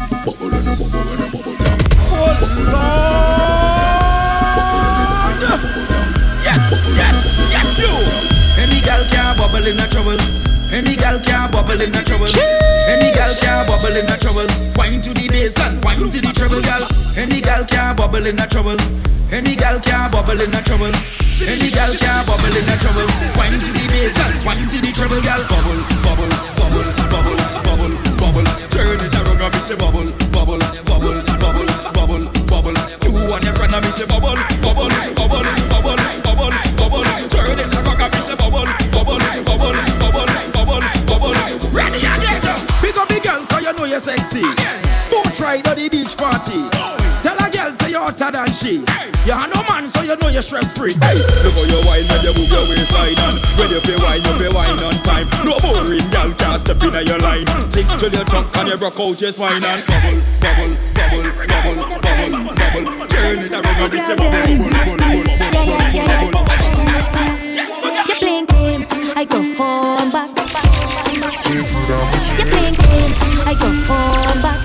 [SPEAKER 18] Yes, yes, yes, you.
[SPEAKER 17] Any girl can bubble in a trouble. Any girl can bubble in a trouble. Any girl can bubble in a trouble. Wine to the bass and wine to the treble, girl. Any girl can bubble in a trouble. Any girl can bubble in a trouble. Any girl can bubble in a trouble. Wine to the bass and wine to the treble, girl. Bubble, bubble, bubble, bubble, bubble, bubble. Turn it around and me say bubble, bubble, bubble, bubble, bubble, bubble. You want your friend and me say bubble, bubble, bubble, bubble, bubble, bubble. Turn it around and me say bubble, bubble, bubble, bubble, bubble, bubble. Ready again.
[SPEAKER 18] Pick up the girl cause you know you're sexy. Go try to the beach party. Tell a girl say you're hotter than she. You are no man so you know you're stress free.
[SPEAKER 17] Hey, look how you wine when you move your waistline and when you pay wine, you pay wine on time. No boring girl can't step in your line. Tick till your trunk and you rock out just wine and bubble, bubble, bubble, bubble, bubble, bubble. Turn it around and say bubble, bubble, bubble, bubble, bubble, bubble.
[SPEAKER 13] You're playing games, I go home back. You're playing games, I go home back.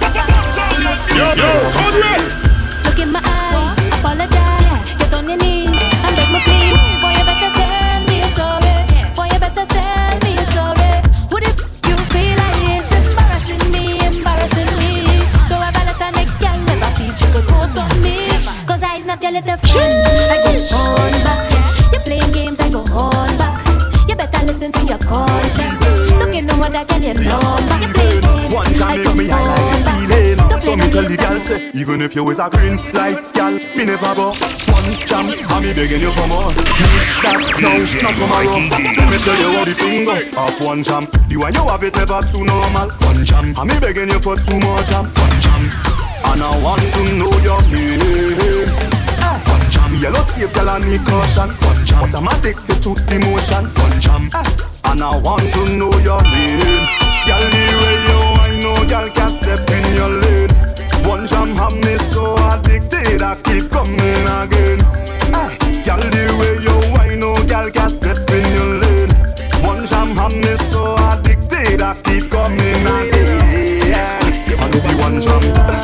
[SPEAKER 3] Yo, yo, code red.
[SPEAKER 13] Look in my eyes, apologize. Get on your knees and beg me please. Boy, you better tell me you're sorry. Boy, you better tell me you're sorry. Would it you feel like it's embarrassing me, embarrassing me? Go have a let the next girl never feel she could post on me. Cause I's not your little friend. I go on back. You're playing games, I go on back. You better listen to your conscience. Don't get no other girl you know back. You play games,
[SPEAKER 11] one can
[SPEAKER 13] I
[SPEAKER 11] make
[SPEAKER 13] go
[SPEAKER 11] me high like the
[SPEAKER 13] on
[SPEAKER 11] ceiling.
[SPEAKER 13] back.
[SPEAKER 11] So me tell the girl say, even if you was a green light gal, me never go. One jam, and me begging you for more. Need that now, not tomorrow. Let me tell you how the thing go. Off one jam, the one you have it ever too normal. One jam, and me begging you for two more jam. One jam, and I want to know your name. One jam, yellow tape, girl, I need caution. One jam, but I'm addicted to emotion. One jam, and I want to know your name. Girl, the way you I know, girl, can step in your lane. One jam have me so addicted, I keep coming again. Girl, the way you I know, girl, can step in your lane. One jam have me so addicted, I keep coming again. I know the one jam.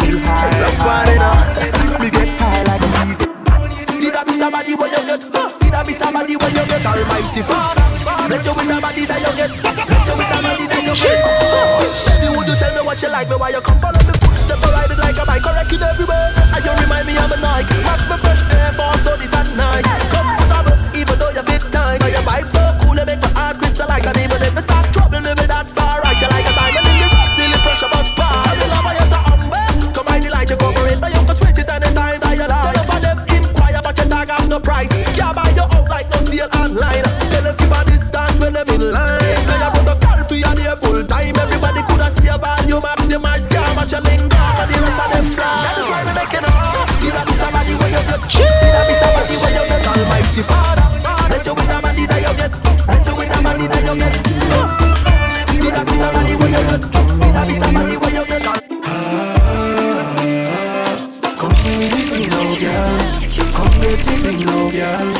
[SPEAKER 9] feel high. It's a fun, you know. Me get high like a bees. See that be somebody where you get. See that be somebody where you get. Almighty Father, bless you with the body that you get. Bless you with the body that you get. Tell me, would you tell me what you like me? Why you come follow me footstep? I ride it like a bike, correct it everywhere. And you remind me I'm a Nike. Match me fresh air force on it at night. Comfortable, even though you fit tight. Now your vibe so cool, you make my heart crystalline. And even if it start trouble, maybe that's alright. You like a diamond in the rough, till the pressure bust by. The love of you so humble. Come on, the light you cover it, but you can switch it anytime that you like. So for them inquire, but you tag off the price. Can't buy you out like no sale online. Tell them keep a distance when them in line. Now you put the call for you there full time. Everybody could have see a value, maximize, can't match your link down. And the rest of them fly. That's why we make it up. See that be somebody where you get. See that be somebody where you get. Almighty Father, bless you with the body that you get. Bless you with the body that you get. See that be somebody where you get. See that be somebody where you get. Come with the thing now, girl. Come with the thing now, girl.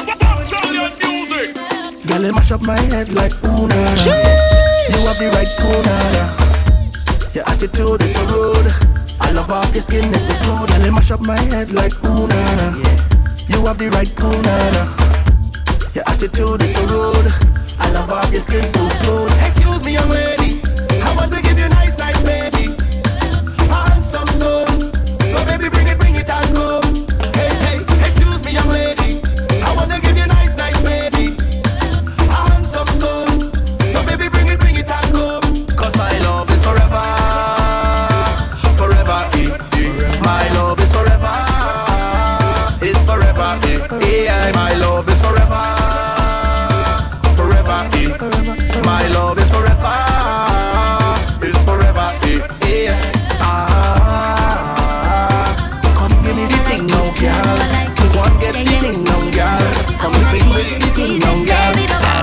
[SPEAKER 9] Girl, you mash up my head like Una. You have the right corner. Your attitude is so rude. I love off your skin, it's so smooth. Girl, you mash up my head like Una. You have the right corner. Your attitude is so rude. I love off your skin so smooth. Excuse me, young lady, I want to give you nice, nice baby. Handsome soul. So baby, bring it, bring it and go. Hey, hey, excuse me, young lady, I want to give you nice, nice baby. Handsome soul. So baby, bring it, bring it and go. Cause my love is forever. Forever, eh, eh. My love is forever. It's forever, eh, eh. My love is forever. Forever, eh. My love is forever. It's forever, eh, eh. Ah, come give me the thing now, girl. Go and get the thing now, girl. Come swing with the thing now, girl.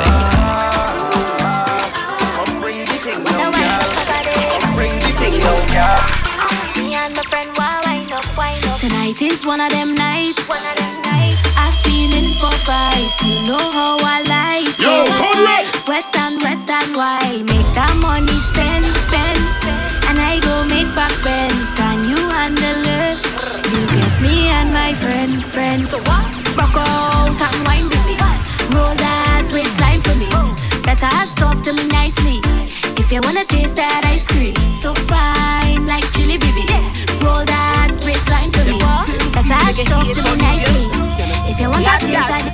[SPEAKER 9] Come bring the thing now, girl. Come bring the thing now, girl.
[SPEAKER 13] Me and my friend, why wind up, wind up. Tonight is one of them nights. One of them nights. I'm feeling for price. You know how I like
[SPEAKER 3] Yo,
[SPEAKER 13] it.
[SPEAKER 3] Conrad.
[SPEAKER 13] Wet and wet and wild. Make that money spend, spend, spend. And I go make back bend. Can you handle it? You get me and my friend, friend. So what? Rock out and wine with me. Roll that waistline for me. Better talk to me nicely. If you wanna taste that ice cream, so fine like chili baby. Roll that waistline for me. Better talk to me nicely. If you want that taste that.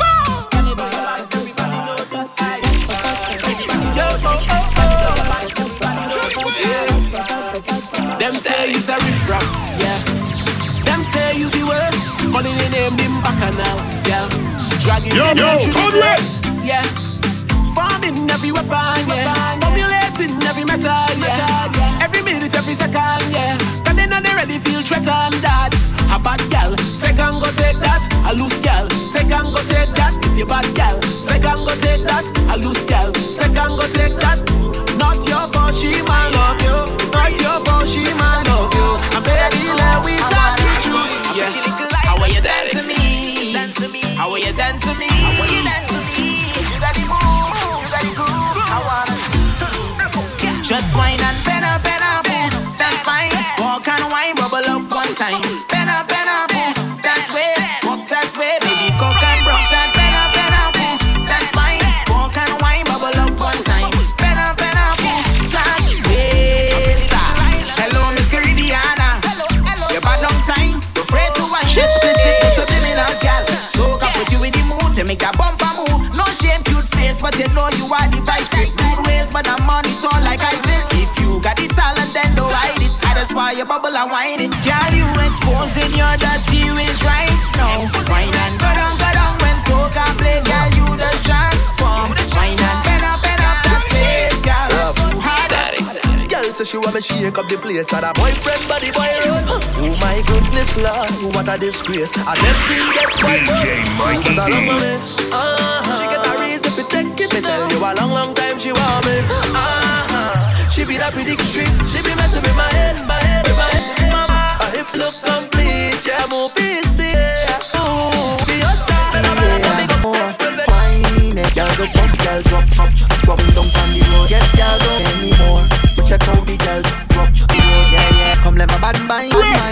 [SPEAKER 10] Them say you's a riff rap, yeah. Them say you's the worst. Money they name him bacchanal, yeah. Dragging
[SPEAKER 3] yo, yo, Conrad,
[SPEAKER 10] yeah. Farming every weapon, yeah. Formulating every method, yeah. Every minute, every second, yeah. Cause they know they ready feel threatened that. A bad gal, second go take that. A loose gal, second go take that. If you bad gal, second go take that. A loose gal, second go take that. Not your fault, she man love you. It's not your fault, she man love you. And baby, let we talk the truth. Yeah. How are you dance to me? How are you dance to me? How are you dance to me? You got the move, you got the groove. I wanna see. Just wine and bend up, bend up, that's fine. Walk and wine, bubble up one time. Bend up, bend up, that way. Walk that way, baby, coke and broke that. Bend up, bend up, that's fine. Walk and wine, bubble up one time. Bend up, bend up, that way. Hello, Miss Caridiana. You bad long time. You're afraid to wine. Explicit, subliminal, girl. So I put you in the mood to make a bumper move. No shame, cute face, but you know you are the vice grip. Good ways, but I'm on it all like I feel. If you got the talent, then don't hide it. That's why you bubble and whine it. Girl, you exposing your dirty ways right now. Wine and go down, go down when soca play. Girl, you just transform. Wine and bend up, bend up that place, girl.
[SPEAKER 9] Girl, so she want me shake up the place. And a boyfriend, body boy run. Oh my goodness, Lord, what a disgrace. And them things get quite good. But I love me. Uh-huh. She get a reason to take it. Me tell you a long, long time she want me. Uh-huh. She be that pretty street. She be messing with my head, my head, my head. Her hips look complete. Yeah, move easy. Ooh, be your style.
[SPEAKER 19] Fine, girl, go jump, girl, drop, drop, drop down on the road. Yes, girl, don't anymore. Check out the girls, drop, drop, yeah, yeah. Come let my bad mind, bad mind.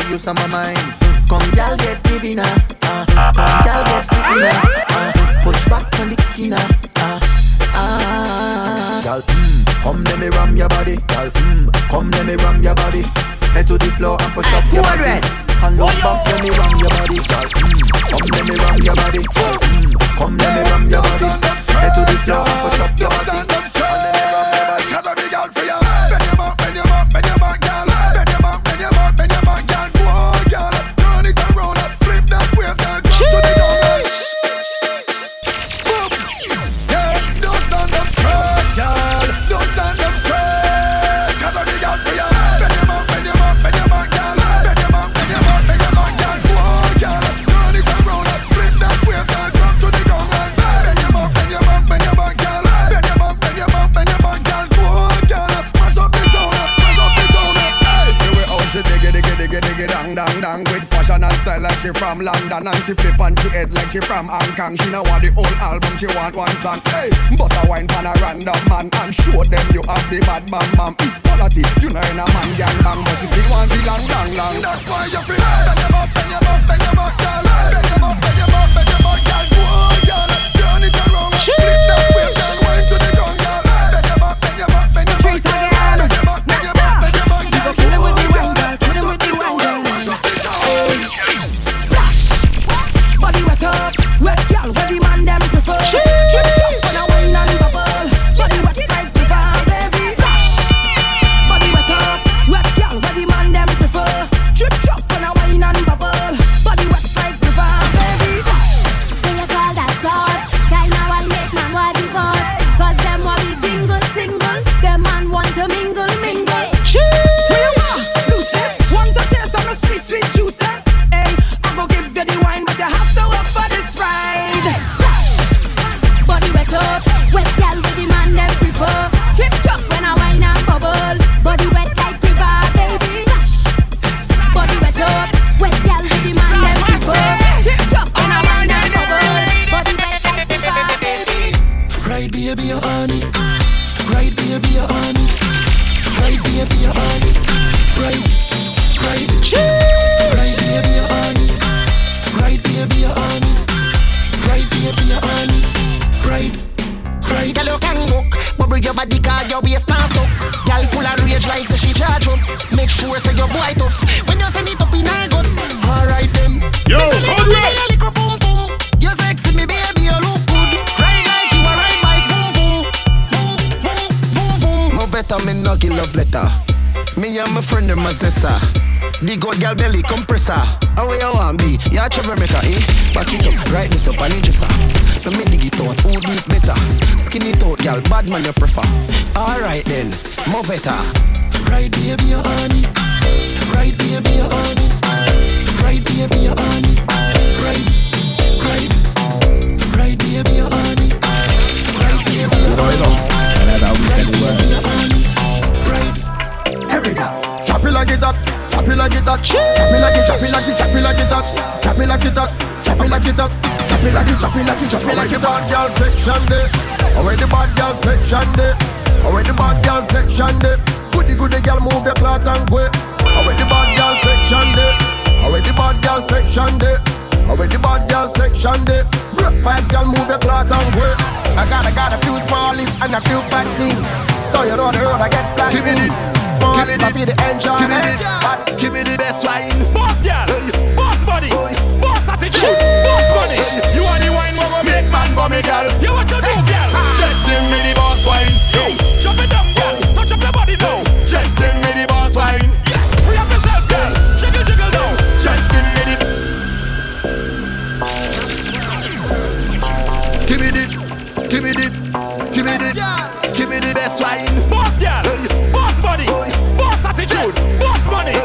[SPEAKER 19] the use of my mind. Come girl get living uh, uh, come girl get freaking uh, push back on the kina uh, uh, girl, mm, come let me ram your body. Girl, mm, come let me ram your body. Head to the floor and push up your body. And look back, let me ram your body. Girl, mm, come let me ram your body. Girl, mm, come let me ram your body. Head to the floor and push up your body. And let me ram your body.
[SPEAKER 11] Cause I'm the girl for you. Bend your back, bend your back, bend your back, girl. Bend your back, bend your back, bend your back, girl. Go on, girl. Turn it around and flip that waist, girl. Drop to the ground. Boom. Yeah, don't stand up straight, girl. Don't stand up straight. Cause I'm the girl for you. Bend your back, bend your back, bend your back, girl. Bend your back, bend your back, bend your back, girl. Go on, girl. Turn it around and flip that waist, girl. Drop to the ground. Bend your back, bend your back, bend your back, girl. Bend your back, bend your back, bend your back, girl. Go on, girl. Mash up the town, mash up the town. Hey,
[SPEAKER 16] the way how she diggy diggy diggy diggy dang dang dang with fashion and style like she from London, and she flip on she head like she from Hong Kong. She now want the whole album, she want one song. Hey, bust a wine pan a random man and show them you have the bad bam bam. It's quality, you know in a man gang bang, but she still want the long long long.
[SPEAKER 11] That's why you feel bend your back, bend your back, bend your back, girl. Bend your back, bend your back, bend your back, girl. Go on, girl. Turn it around, flip that waist, girl. Wine to the ground, girl. Bend your back, bend your back, bend your back, girl. Bend your back, bend your back, bend your back, girl.
[SPEAKER 13] Kill it with the wine, girl. Kill it with the wine, girl. Splash, body wet up, wet girl. Where the man them prefer. Trip top when I wine and bubble. Body wet like the fire, baby. Splash, body wet up, wet girl. Where the man them prefer. Trip top when I wine and bubble. Body wet like the fire, baby.
[SPEAKER 20] So you call that sauce? Guy now I'll make man want divorce. Cause them want be single, single. Them man want to mingle, mingle.
[SPEAKER 13] Sweet, sweet juice, eh? Hey, I go give you the wine, but you have to work for this ride. Splash,
[SPEAKER 20] body wet up, wet gal with the man them prefer. Trip top when I wine and bubble. Body wet like river, baby. Splash, body wet up, wet gal with the man them prefer. Trip top when I wine and bubble. Body wet like river, baby.
[SPEAKER 19] Right, baby, you're on it. Right, baby, you're on it. Right, baby, you're on it. Right. Right, right, baby, you're on it. Right, baby, you're on it. Right, baby, you're on it. Right, right.
[SPEAKER 9] Girl, you can look, bubble your body, cause your waist not stuck. Girl full of rage like so she charge up. Make sure say your boy tough. When you send it up in her gut, alright then.
[SPEAKER 3] Yo, Conrad.
[SPEAKER 9] Boom boom. You sexy me, baby, you look good. Ride like you a ride bike, boom boom, boom boom boom boom.
[SPEAKER 19] No better me no give love letter. Me and my friend them my sister. The good girl belly compressor. How you want be? You a troublemaker, eh? Back it up, right this up and interest. Let me dig it out, who do it better? Skin it out, girl, bad man you prefer. Alright then, move it. Right baby you on it. Right baby you on it. Right baby you on it. Right, right. Right baby you on it. Right baby you on it. Right baby you on it. Right.
[SPEAKER 11] Every girl, chop it like it up. Chop it like it up, chop it like it, chop it like it, chop it like it up, chop it like it up, chop it like it up, chop it like it, chop it like it, chop it like it. Bad girl section there, already the bad girl section there, already the bad girl section there. Goody goody girl move your cloth and go. Already the bad girl section there, already the bad girl section there, already the bad girl section there. Vibes girl move your cloth and go. I got I got a few small lips and a few fat things, so you know the road I get flat. Give me the small lips, I feel the enjoy. Give me the, give me the best wine.
[SPEAKER 18] Boss girl, boss body, boss attitude, boss money. You are the wine who go make man bummy girl. You what you do, girl?
[SPEAKER 11] Just give me the boss wine.
[SPEAKER 18] Hey, jump it up, girl. Touch up your body now.
[SPEAKER 11] Just give me the boss wine.
[SPEAKER 18] Yes, free up yourself, girl. Jiggle, jiggle now.
[SPEAKER 11] Just give me the. Give me the, give me the, give me the, give me the best wine.
[SPEAKER 18] Boss girl, boss body, boss attitude, boss money.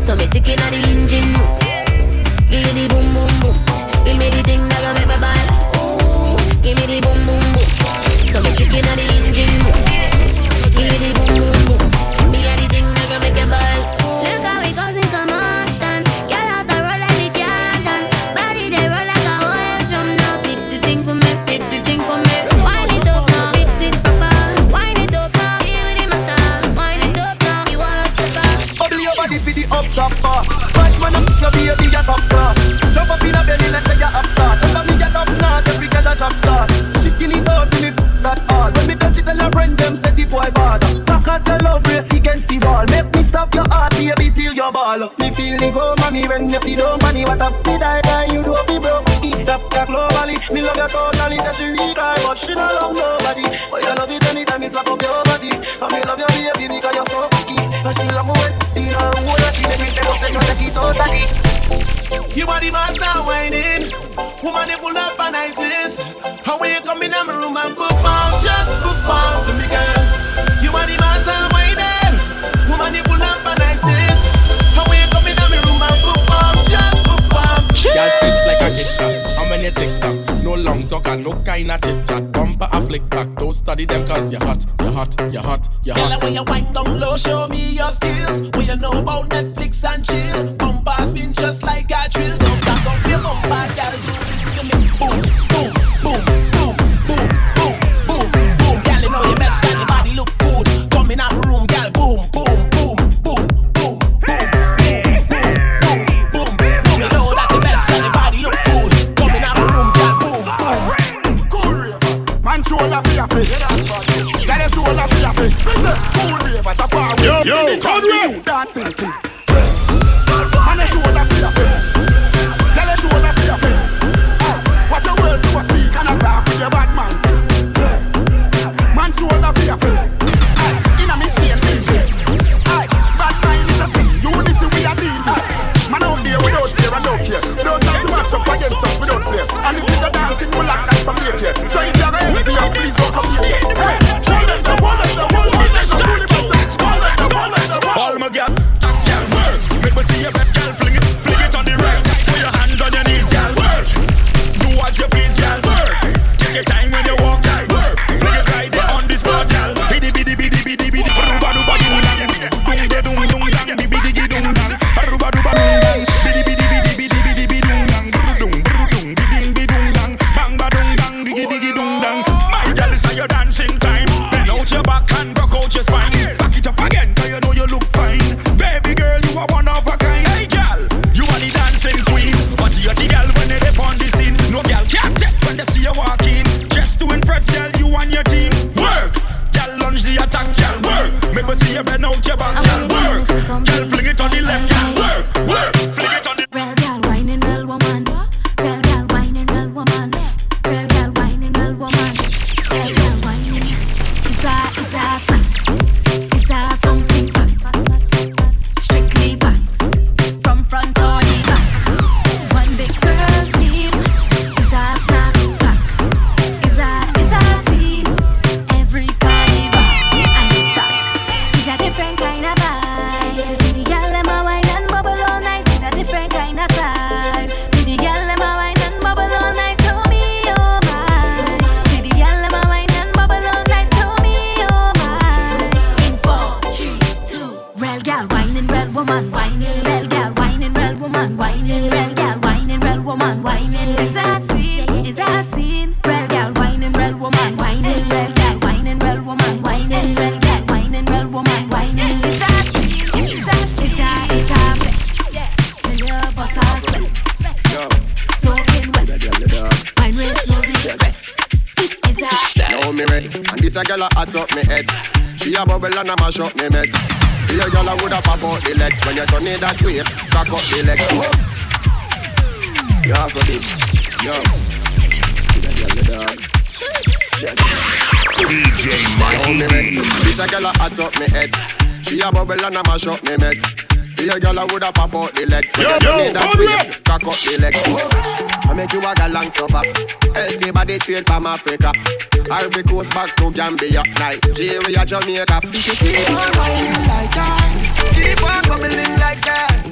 [SPEAKER 20] So me ticking on the engine. Give me the boom boom boom. Give me the thing that gon' make me ball. Ooh, give me the boom boom boom. So me ticking on the engine. Give me the boom boom boom. Me a the thing that gon' make me ball. Look how it goes in commotion. Girl out the roll like the carton. Body they roll like a whole drum. Now fix the thing for me, fix the thing for me. Wind it up now, fix it proper. Wind it up now, here with the matter. Wind it up now, you want to stop.
[SPEAKER 2] Bubble your body for the up top fast. Right man up your baby get up fast. Jump up in a belly like say you up start. Jump up me get up now, every girl a drop card. She skinny down for me f*** that hard. When me touch it tell her friend them say the boy bad. Back as your love race against the wall. Make me stop your heart baby till your ball. Me feel the go mommy when you see don't money. What up me die die you do fi broke. Eat that cock globally. Me love you totally. Say she retry but she don't love nobody. But you love it anytime me slap up your body. And me love your baby because you're so cocky. And she love when in her own and she make me tell say you take it totally. You are the master whining. Woman you full of niceness. How when you come in my room and perform, just perform to me girl. You are the master whining. Woman you full of niceness. How when you come in my room and perform, just perform.
[SPEAKER 15] Girl spit like a hit track. How many tick tock? No long talk and no kind of chit chat. Bumper a flick back. Don't study them cause you're hot, you're hot, you're hot, you're hot.
[SPEAKER 2] Girl when you wind down low, show me your skills. When you know about Netflix and chill. Bumper spin just like a drill. So back up your bumper, girl. Do this to me. Boom, boom, boom, boom, boom, boom, boom, boom. Girl you know you best and your body look good. Come in our room, girl. Boom, boom, boom, boom, boom, boom, boom, boom, boom, boom. You know that the best and your body look good. Come in our room, girl. Boom, boom. Cool ravers, man shoulder for your face. Girl you shoulder for your face. Cool ravers, a power. Yo, yo, cool ravers, dancing king. Man you shoulder for your face. Girl you shoulder for your face. Watch your words you a speak and a talk with your bad man. Man shoulder for your face. Inna me chain me. Bad mind is a thing. Unity we a deal. Man out there without fear and no care. Don't try to match up against us without fear. And if you the dancing, we'll lock that from here. So if you're envious, please don't come here. Hey, hold it, hold it, hold it, hold it, hold it.
[SPEAKER 15] All my girl, girl, work. Make me see your back, girl, fling it, fling it on the right. Put your hands on your knees, girl, work. Do what you please, girl, work. Take your time when you walk, girl, work. Fling it right there on the spot, girl. Biddy, biddy, biddy, biddy, biddy. Ruba, ruba, dung, dung, dung, dung, dung, dung, biddy, biddy, dung, dung. Ruba, ruba, dung, dung. Biddy, biddy, biddy, biddy, biddy, biddy, dung, dung, dung, dung, biddy, biddy, dung, dung. Bang, ba, dung, dung, diggy, diggy, dung, dung. My girl, it's your dancing time. Bend out your back and broke out your spine. Back it up again, 'cause you know you look fine. Baby girl, you are one of a kind. Hey girl, you are the dancing queen. But you're the girl when they dip on the scene. No girl can't test when they see you walk in. Just to impress, girl, you and your team. Work, girl, lunge the attack, girl, work. Make me see you bend out your back, girl, work. Girl, fling it on the left, girl, work, work. Fling it on the
[SPEAKER 13] real girl, whining real woman. Real girl, whining real woman. Real girl, whining real woman. Real girl, whining. Is that, is that snack? Is that something fun? Strictly facts. From front or the back. One big girl's team. Is that snack pack? Is that, is that scene? Every carnival. And it's that. It's a different kind of vibe. You see the girl them a wine and bubble all night in a different kind of style. See the girl them a wine and bubble all night to me, oh my. See the girl them a wine and bubble all night to me, oh my. In four, three, two. Real girl whining, real woman whining. Real girl whining, real woman whining. Real girl whining, real woman whining. Is that a scene? Is that a scene? Real girl whining, real woman whining. Real girl whining, real woman whining. Real girl whining, real woman whining. Is that a scene? Is that a scene? Is that, is that when your boss are sweat? Soaking wet. Wine with no regret. Is that?
[SPEAKER 11] Now me ready, and this a girl a hot up me head. She a bubble and a mash up me met. See a girl a woulda pop out the legs when you turn it that way. Crack up the legs. You have to be, yo. See that girl the dog.
[SPEAKER 3] D J Mikey.
[SPEAKER 11] This a girl a hot up me head. She a bubble and a mash up me met. See a girl a woulda pop out the leg. When you turn it that way. Crack up the legs. I make you a galang suffer. Healthy body trade from Africa. Ivory Coast back to Gambia, Nigeria, Jamaica.
[SPEAKER 2] Keep on whining like that. Keep on bubbling like that.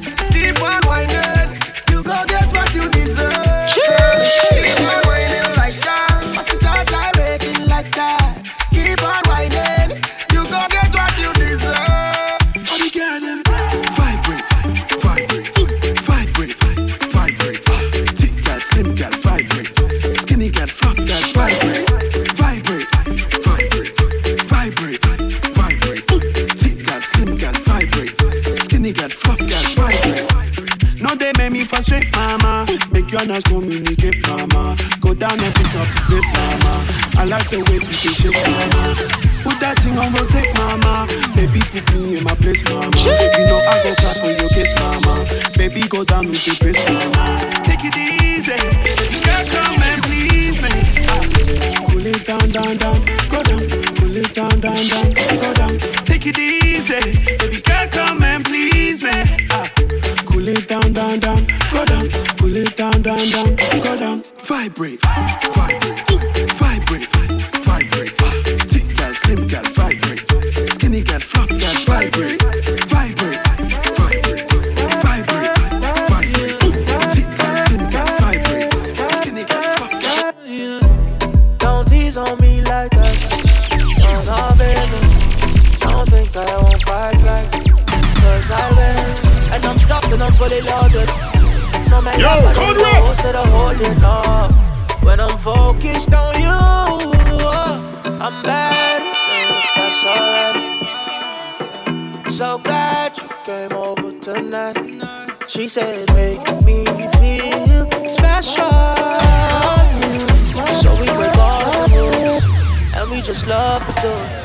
[SPEAKER 2] keep on whining. You go get what you deserve. Keep on whining like that. But you don't like rating like that. Keep on whining. You go get what you deserve.
[SPEAKER 11] All the girl them vibrate, vibrate, vibrate, vibrate. Thick girls, slim girls, vibrate. Skinny girls, fat girls, vibrate, vibrate, vibrate, vibrate, vibrate. Thick girls, slim girls, vibrate. Skinny girls, fat girls, vibrate.
[SPEAKER 16] No, they make me frustrate, mama. Make you not communicate, mama. Go down and pick up the place, mama. I like the way you shake, mama. Put that thing on rotate, mama. Baby, put me in my place, mama. You know I go clap on your case, mama. Baby, go down with the bass, mama. Take it easy. You can't come and please me. Ah. Cool it down, down, down. Go down. Cool it down, down, down. Go down. Take it easy. Baby, can't come and please me. Ah. Cool it down, down, down. Go down. Cool it down, down, down. Go down.
[SPEAKER 11] Vibrate, vibrate, vibrate, vibrate. Thick girls, slim girls, vibrate. Skinny girls, fat girls, vibrate, vibrate, vibrate, vibrate, vibrate. Thick girls, slim girls, vibrate. Skinny girls, fat girls.
[SPEAKER 15] Don't tease on me like that. No, no, baby. Don't think that I won't fight back. Cause I will. And I'm stopped and I'm fully loaded. No matter
[SPEAKER 3] Yo,
[SPEAKER 15] what I do, instead of holding up. When I'm focused on you, I'm bad, so that's alright. So glad you came over tonight. She said, make me feel special. So we break all the rules, and we just love to do it.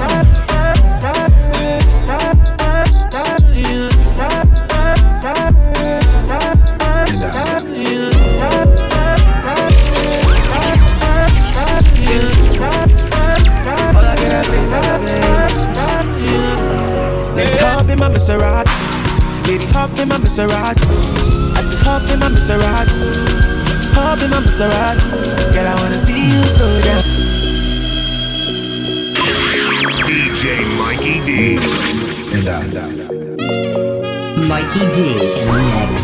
[SPEAKER 5] Let's hop in my Maserati, baby, hop in my Maserati. I said hop in my Maserati, hop in my Maserati. Girl, I wanna see you go down.
[SPEAKER 3] D J Mikey D.
[SPEAKER 5] And down, down, down. Mikey D in the mix.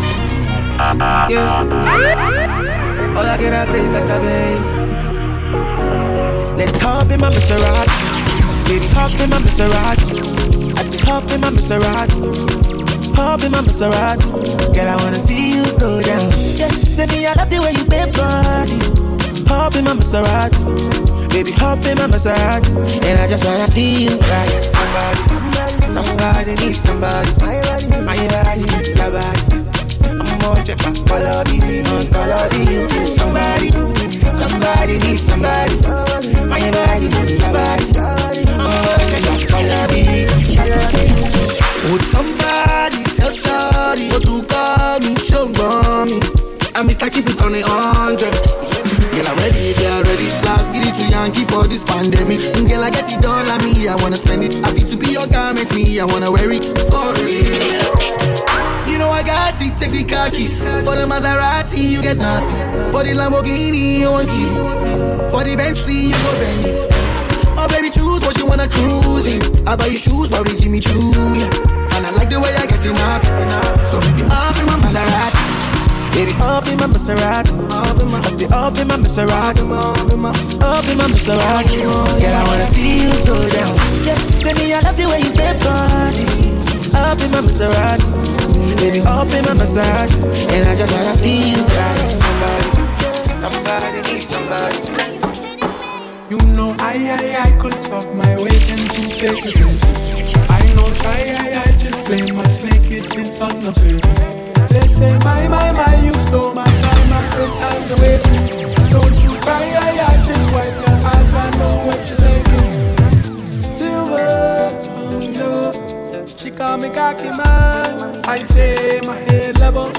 [SPEAKER 5] Yeah. All I get a great at baby. Let's hop in my Maserati, baby, hop in my Maserati. I said hop in my Maserati, hop in my Maserati. Girl, I wanna see you go down. Yeah. Say me I love the way you bend body. Hop in my Maserati, baby, hop in my Maserati. And I just wanna see you ride. Somebody, somebody, somebody needs somebody. My body, my body, your body. I'm more check my color, baby, color, baby. Somebody, somebody needs somebody. My body, your body. I'm more check my color, baby.
[SPEAKER 2] Would somebody tell Shawty what to call me, show me? I miss like keep it on a hundred. Girl, I'm ready, girl, ready. Last get it to Yankee for this pandemic. Girl, I get it all on me, I wanna spend it. I feel to be your garment, me, I wanna wear it for real. You know I got it, take the car keys. For the Maserati, you get nothing. For the Lamborghini, you want it. For the Bentley, you go bend it. Oh baby, choose what you wanna cruise in. I buy you shoes, probably Jimmy Choo, yeah. And I like the way I get in out. So baby, up in my Maserati.
[SPEAKER 5] Baby, up in my Maserati. I say up in my Maserati. Up in my Maserati. Girl, I wanna see you go down. Yeah, say me I love the way you bend body. Up in my Maserati, baby, up in my Maserati. And I just wanna see you ride. Somebody, somebody needs somebody.
[SPEAKER 6] You know I, I, I could talk my way into fake this. I know try, I, I just play my snake it in son of it. They say my, my, my, you stole my time. I say time to waste it. Don't you cry, I, I just wipe your eyes. I know what you're thinking. Silver tongue, she call me cocky man. I say my head level.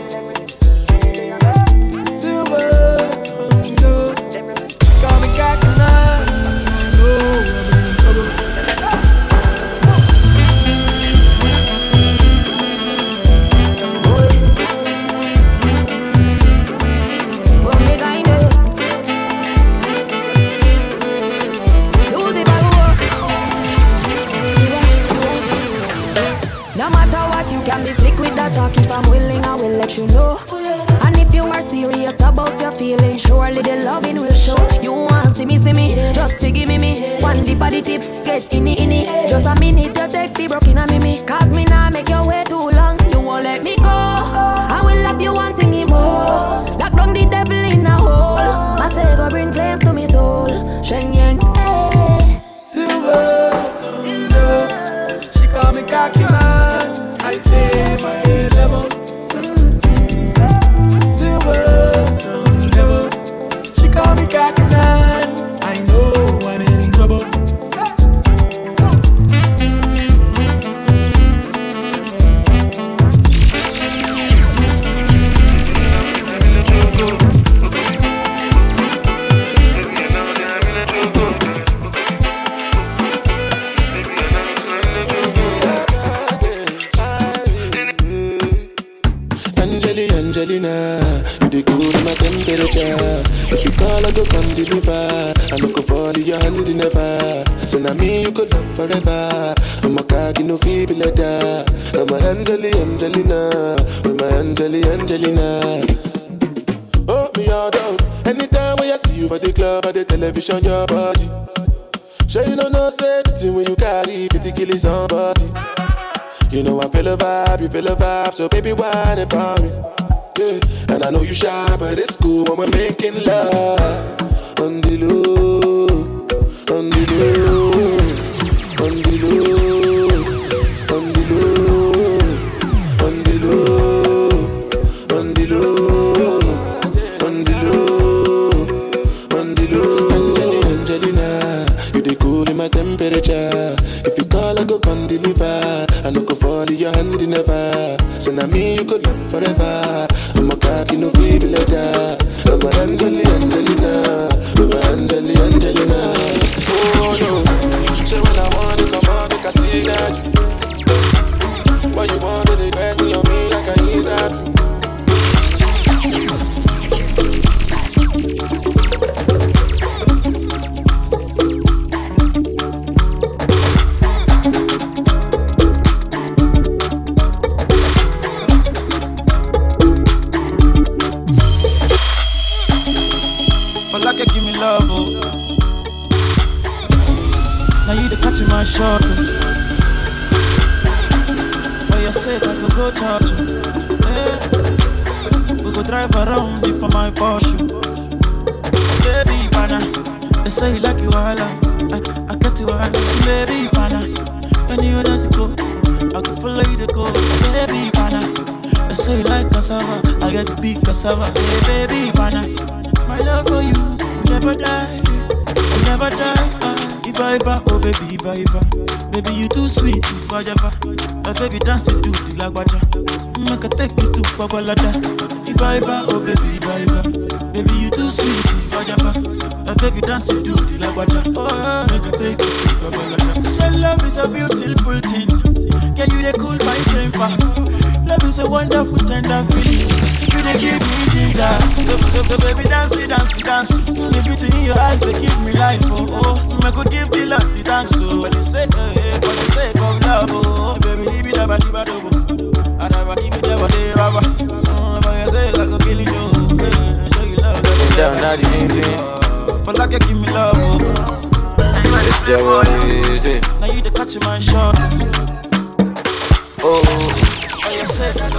[SPEAKER 6] Silver tongue, she call me cocky man.
[SPEAKER 14] No matter what, you can be slick with that talk. If I'm willing, I don't you know? And if you are serious about your feelings, surely the loving will show. You want see me, see me, just to give me me. One dip of the tip, get inni inni. Just a minute you take be broken a mimi. Cause me nah make your way too long. You won't let me go. I will love you one sing more. Lock down the devil in a hole. I say go bring flames to me soul. Shen yang, eh.
[SPEAKER 15] Silver, silver. She call me cocky man. I say my head level. Silver, she call me cocky man. I know I'm in trouble.
[SPEAKER 11] Angelina, you the cool in my temperature. If you call, I go come deliver. I no go fall in your hand never. So now me you could love forever. I'm a cocky no feeble letter. I'm a Angeli Angelina, with my Angeli Angelina. Oh me all down. Anytime when I see you for the club or the television, your body. Sure you know no safety when you carry fifty killing somebody. You know I feel a vibe, you feel a vibe, so baby whine about me. Yeah. And I know you shy, but it's cool when we're making love. On the low, on the low, on the low, on the low, on the low, on the low, on the low, on the low. Angelina, Angelina, you the cool in my temperature. If you call, I go come deliver. I no go fall in your hand never. So now me you could love forever. I'm a cocky no feeble letter. I'm a Angeli Angelina, I'm a Angeli Angelina. Oh no, so when I want to come on, make I see that you. Why you want to the question on me like I need that?
[SPEAKER 15] Love, oh. Now you the catching my shot, oh. For your sake I go go touch you, yeah. We go drive around you for my Porsche. Baby pana, they say you like you all I, I get you all baby pana, anywhere that you go I can follow you to go. Baby pana, they say you like cassava, I get to big cassava. Hey, baby pana, my love for you never die, I'll never die. Uh, if I ever, oh baby, if I ever, baby you too sweet, if I ever, uh, baby dance it to the lagwaja, make I take you to Babalada. If I ever, oh baby, if I ever, baby you too sweet, if I ever, uh, baby dance it to the lagwaja, oh make I take you to Babalada. So love is a beautiful thing, can you they cool my temper? Love is a wonderful tender feeling. You they give me ginger, so, so, so baby dance it, dance it, dance it. If it's in your eyes, they give me life, oh, oh. I could give the love, the thanks, so for the sake, oh, yeah, for the sake of love, oh. Baby, leave it up, leave it up, I never leave it up, leave it up. Oh, for your sake, I could kill you, yeah, show you love, down, now the main thing. For like you give me love, oh. It's your one, easy. Now you the catch my shot, oh.
[SPEAKER 13] It's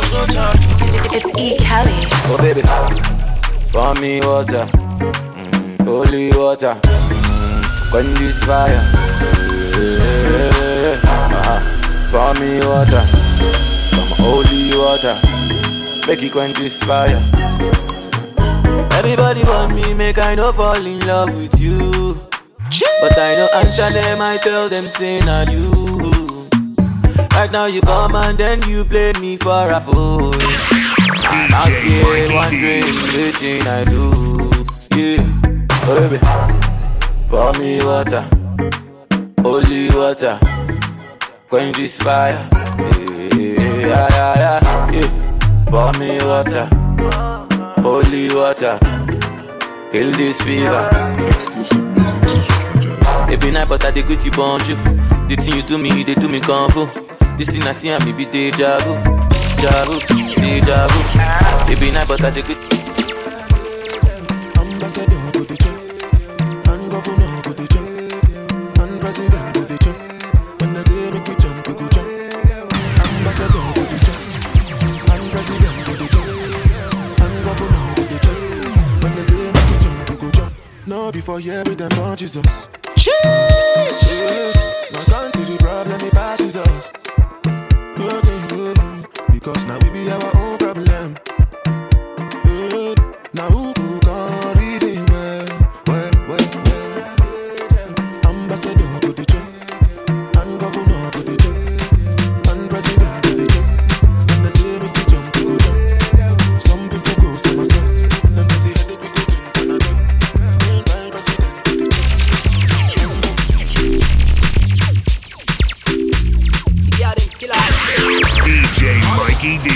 [SPEAKER 13] E. Kelly.
[SPEAKER 15] Oh baby, pour me water, mm, holy water, mm, quench this fire. Yeah, yeah, yeah. Uh-huh. Pour me water, some holy water, make it quench this fire. Everybody want me, make I no fall in love with you. But I no answer them, I tell them say not you. Right now you come and then you play me for a fool. I'm out here wondering everything I do. Yeah, oh baby, pour me water, holy water, quench this fire. Yeah, yeah, yeah, yeah, yeah. Pour me water, holy water, kill this fever.
[SPEAKER 12] Exclusive music,
[SPEAKER 15] every night but I dey greet you bonjour. The thing you do me, they do me kung fu. This thing I see and me be deja vu.
[SPEAKER 5] deja vu, deja vu. Baby, night, but I dig it.
[SPEAKER 11] Ambassador to the church, and governor to the church, and president to the church. When I say make we jump, we go jump. Ambassador to the church, and president to the church, and governor to the church. When I say make we jump, we go jump. No, before here with them, Lord Jesus. Cheese! Now can't do the problem, it passes us. Because now we be our own problem. Now who can reason well, well, well, well. Ambassador to the church, and governor to the church, and president to the church. When they say we can jump, we go jump. Some people go somersault. Them pretty headed we go drink and a jump. Meanwhile, president to the church.
[SPEAKER 8] Yeah, them skill
[SPEAKER 3] D J Mikey D.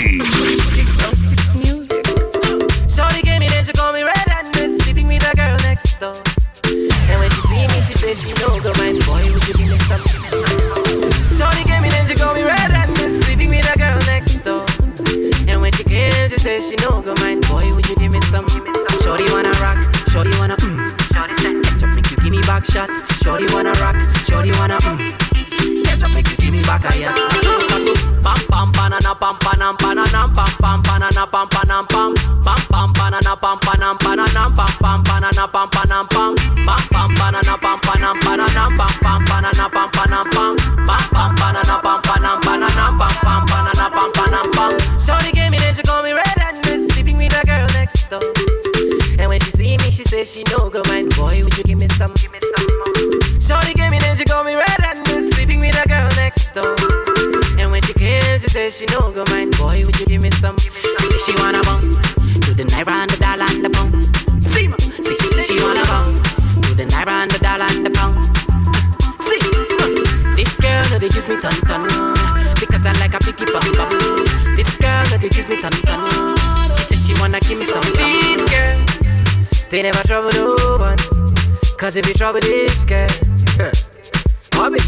[SPEAKER 8] Shorty gave me then she call me red-handed, sleeping with a girl next door. And when she see me, she said she know go mind, boy, would you give me some? Shorty gave me then she call me red-handed, sleeping with a girl next door. And when she came, she said she know go mind, boy, would you give me some? Shorty wanna rock, shorty wanna mm. Shorty said, catch up, make you give me back shot. Shorty wanna rock, shorty wanna mm. Catch up, make you give me back a yeah. So start to pam pam banana pam panam banana pam pam banana pam panam pam pam pam banana pam panam banana pam pam banana pam panam pam pam pam banana pam panam banana pam pam banana pam panam pam pam pam banana pam panam banana pam pam banana pam panam pam. Shorty gave me then she call me red-handed, sleeping with a girl next door. And when she see me, she say she no go mind, boy, would you give me some? Give me some more. Shorty gave me then she call me red-handed, sleeping with a girl next door. And when she came, she said she no go mind, boy, would you give me some? She say she wanna bounce to the naira and the dollar and the pounds. See ma, see she say she wanna bounce to the naira and the dollar and the pounds. See, huh. This girl no they gives me ton ton because I like a picky bum bum. This girl no they gives me ton ton. She says she wanna give me some. This girl, they never trouble no one, cause if you trouble this girl, Bobby.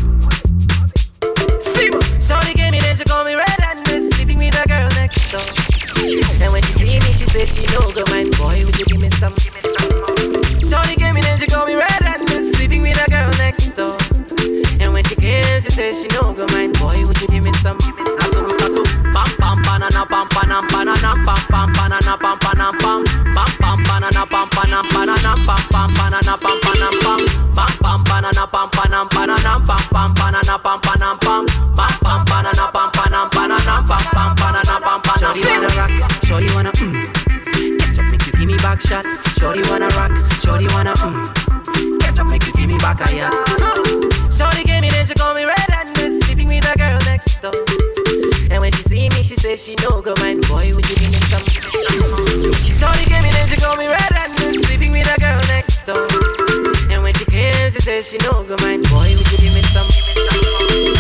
[SPEAKER 8] See what? Shorty gave me then she call me red-handed, sleeping with a girl next door. And when she see me, she said she no go mind, boy, would you give me some? Give me some more. Shorty gave me then she call me red-handed, sleeping with a girl next door. And when she came, she said she no go mind, boy, would you give me some? Give me some. So we start to pam pam banana pam panam banana pam pam banana pam panam pam pam pam banana pam panam banana pam pam banana pam panam pam pam pam banana pam panam banana pam pam banana pam panam pam pam pam banana pam panam banana pam pam banana pam panam. Shorty wanna rock, shorty wanna mm. Catch up, make you give me back shot. Shorty wanna rock, shorty wanna mm. Catch up, make you give me back a yeah. Shorty gave me then she call me red-handed, sleeping with a girl next door. And when she see me, she say she no go mind, boy, would you give me some? Shorty gave me then she call me red-handed, sleeping with a girl next door. And when she came, she say she no go mind, boy, would you give me some?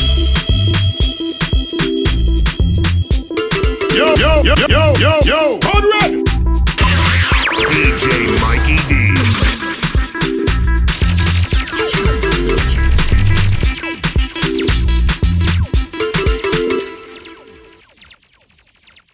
[SPEAKER 3] Yo, yo, yo, yo, yo, yo,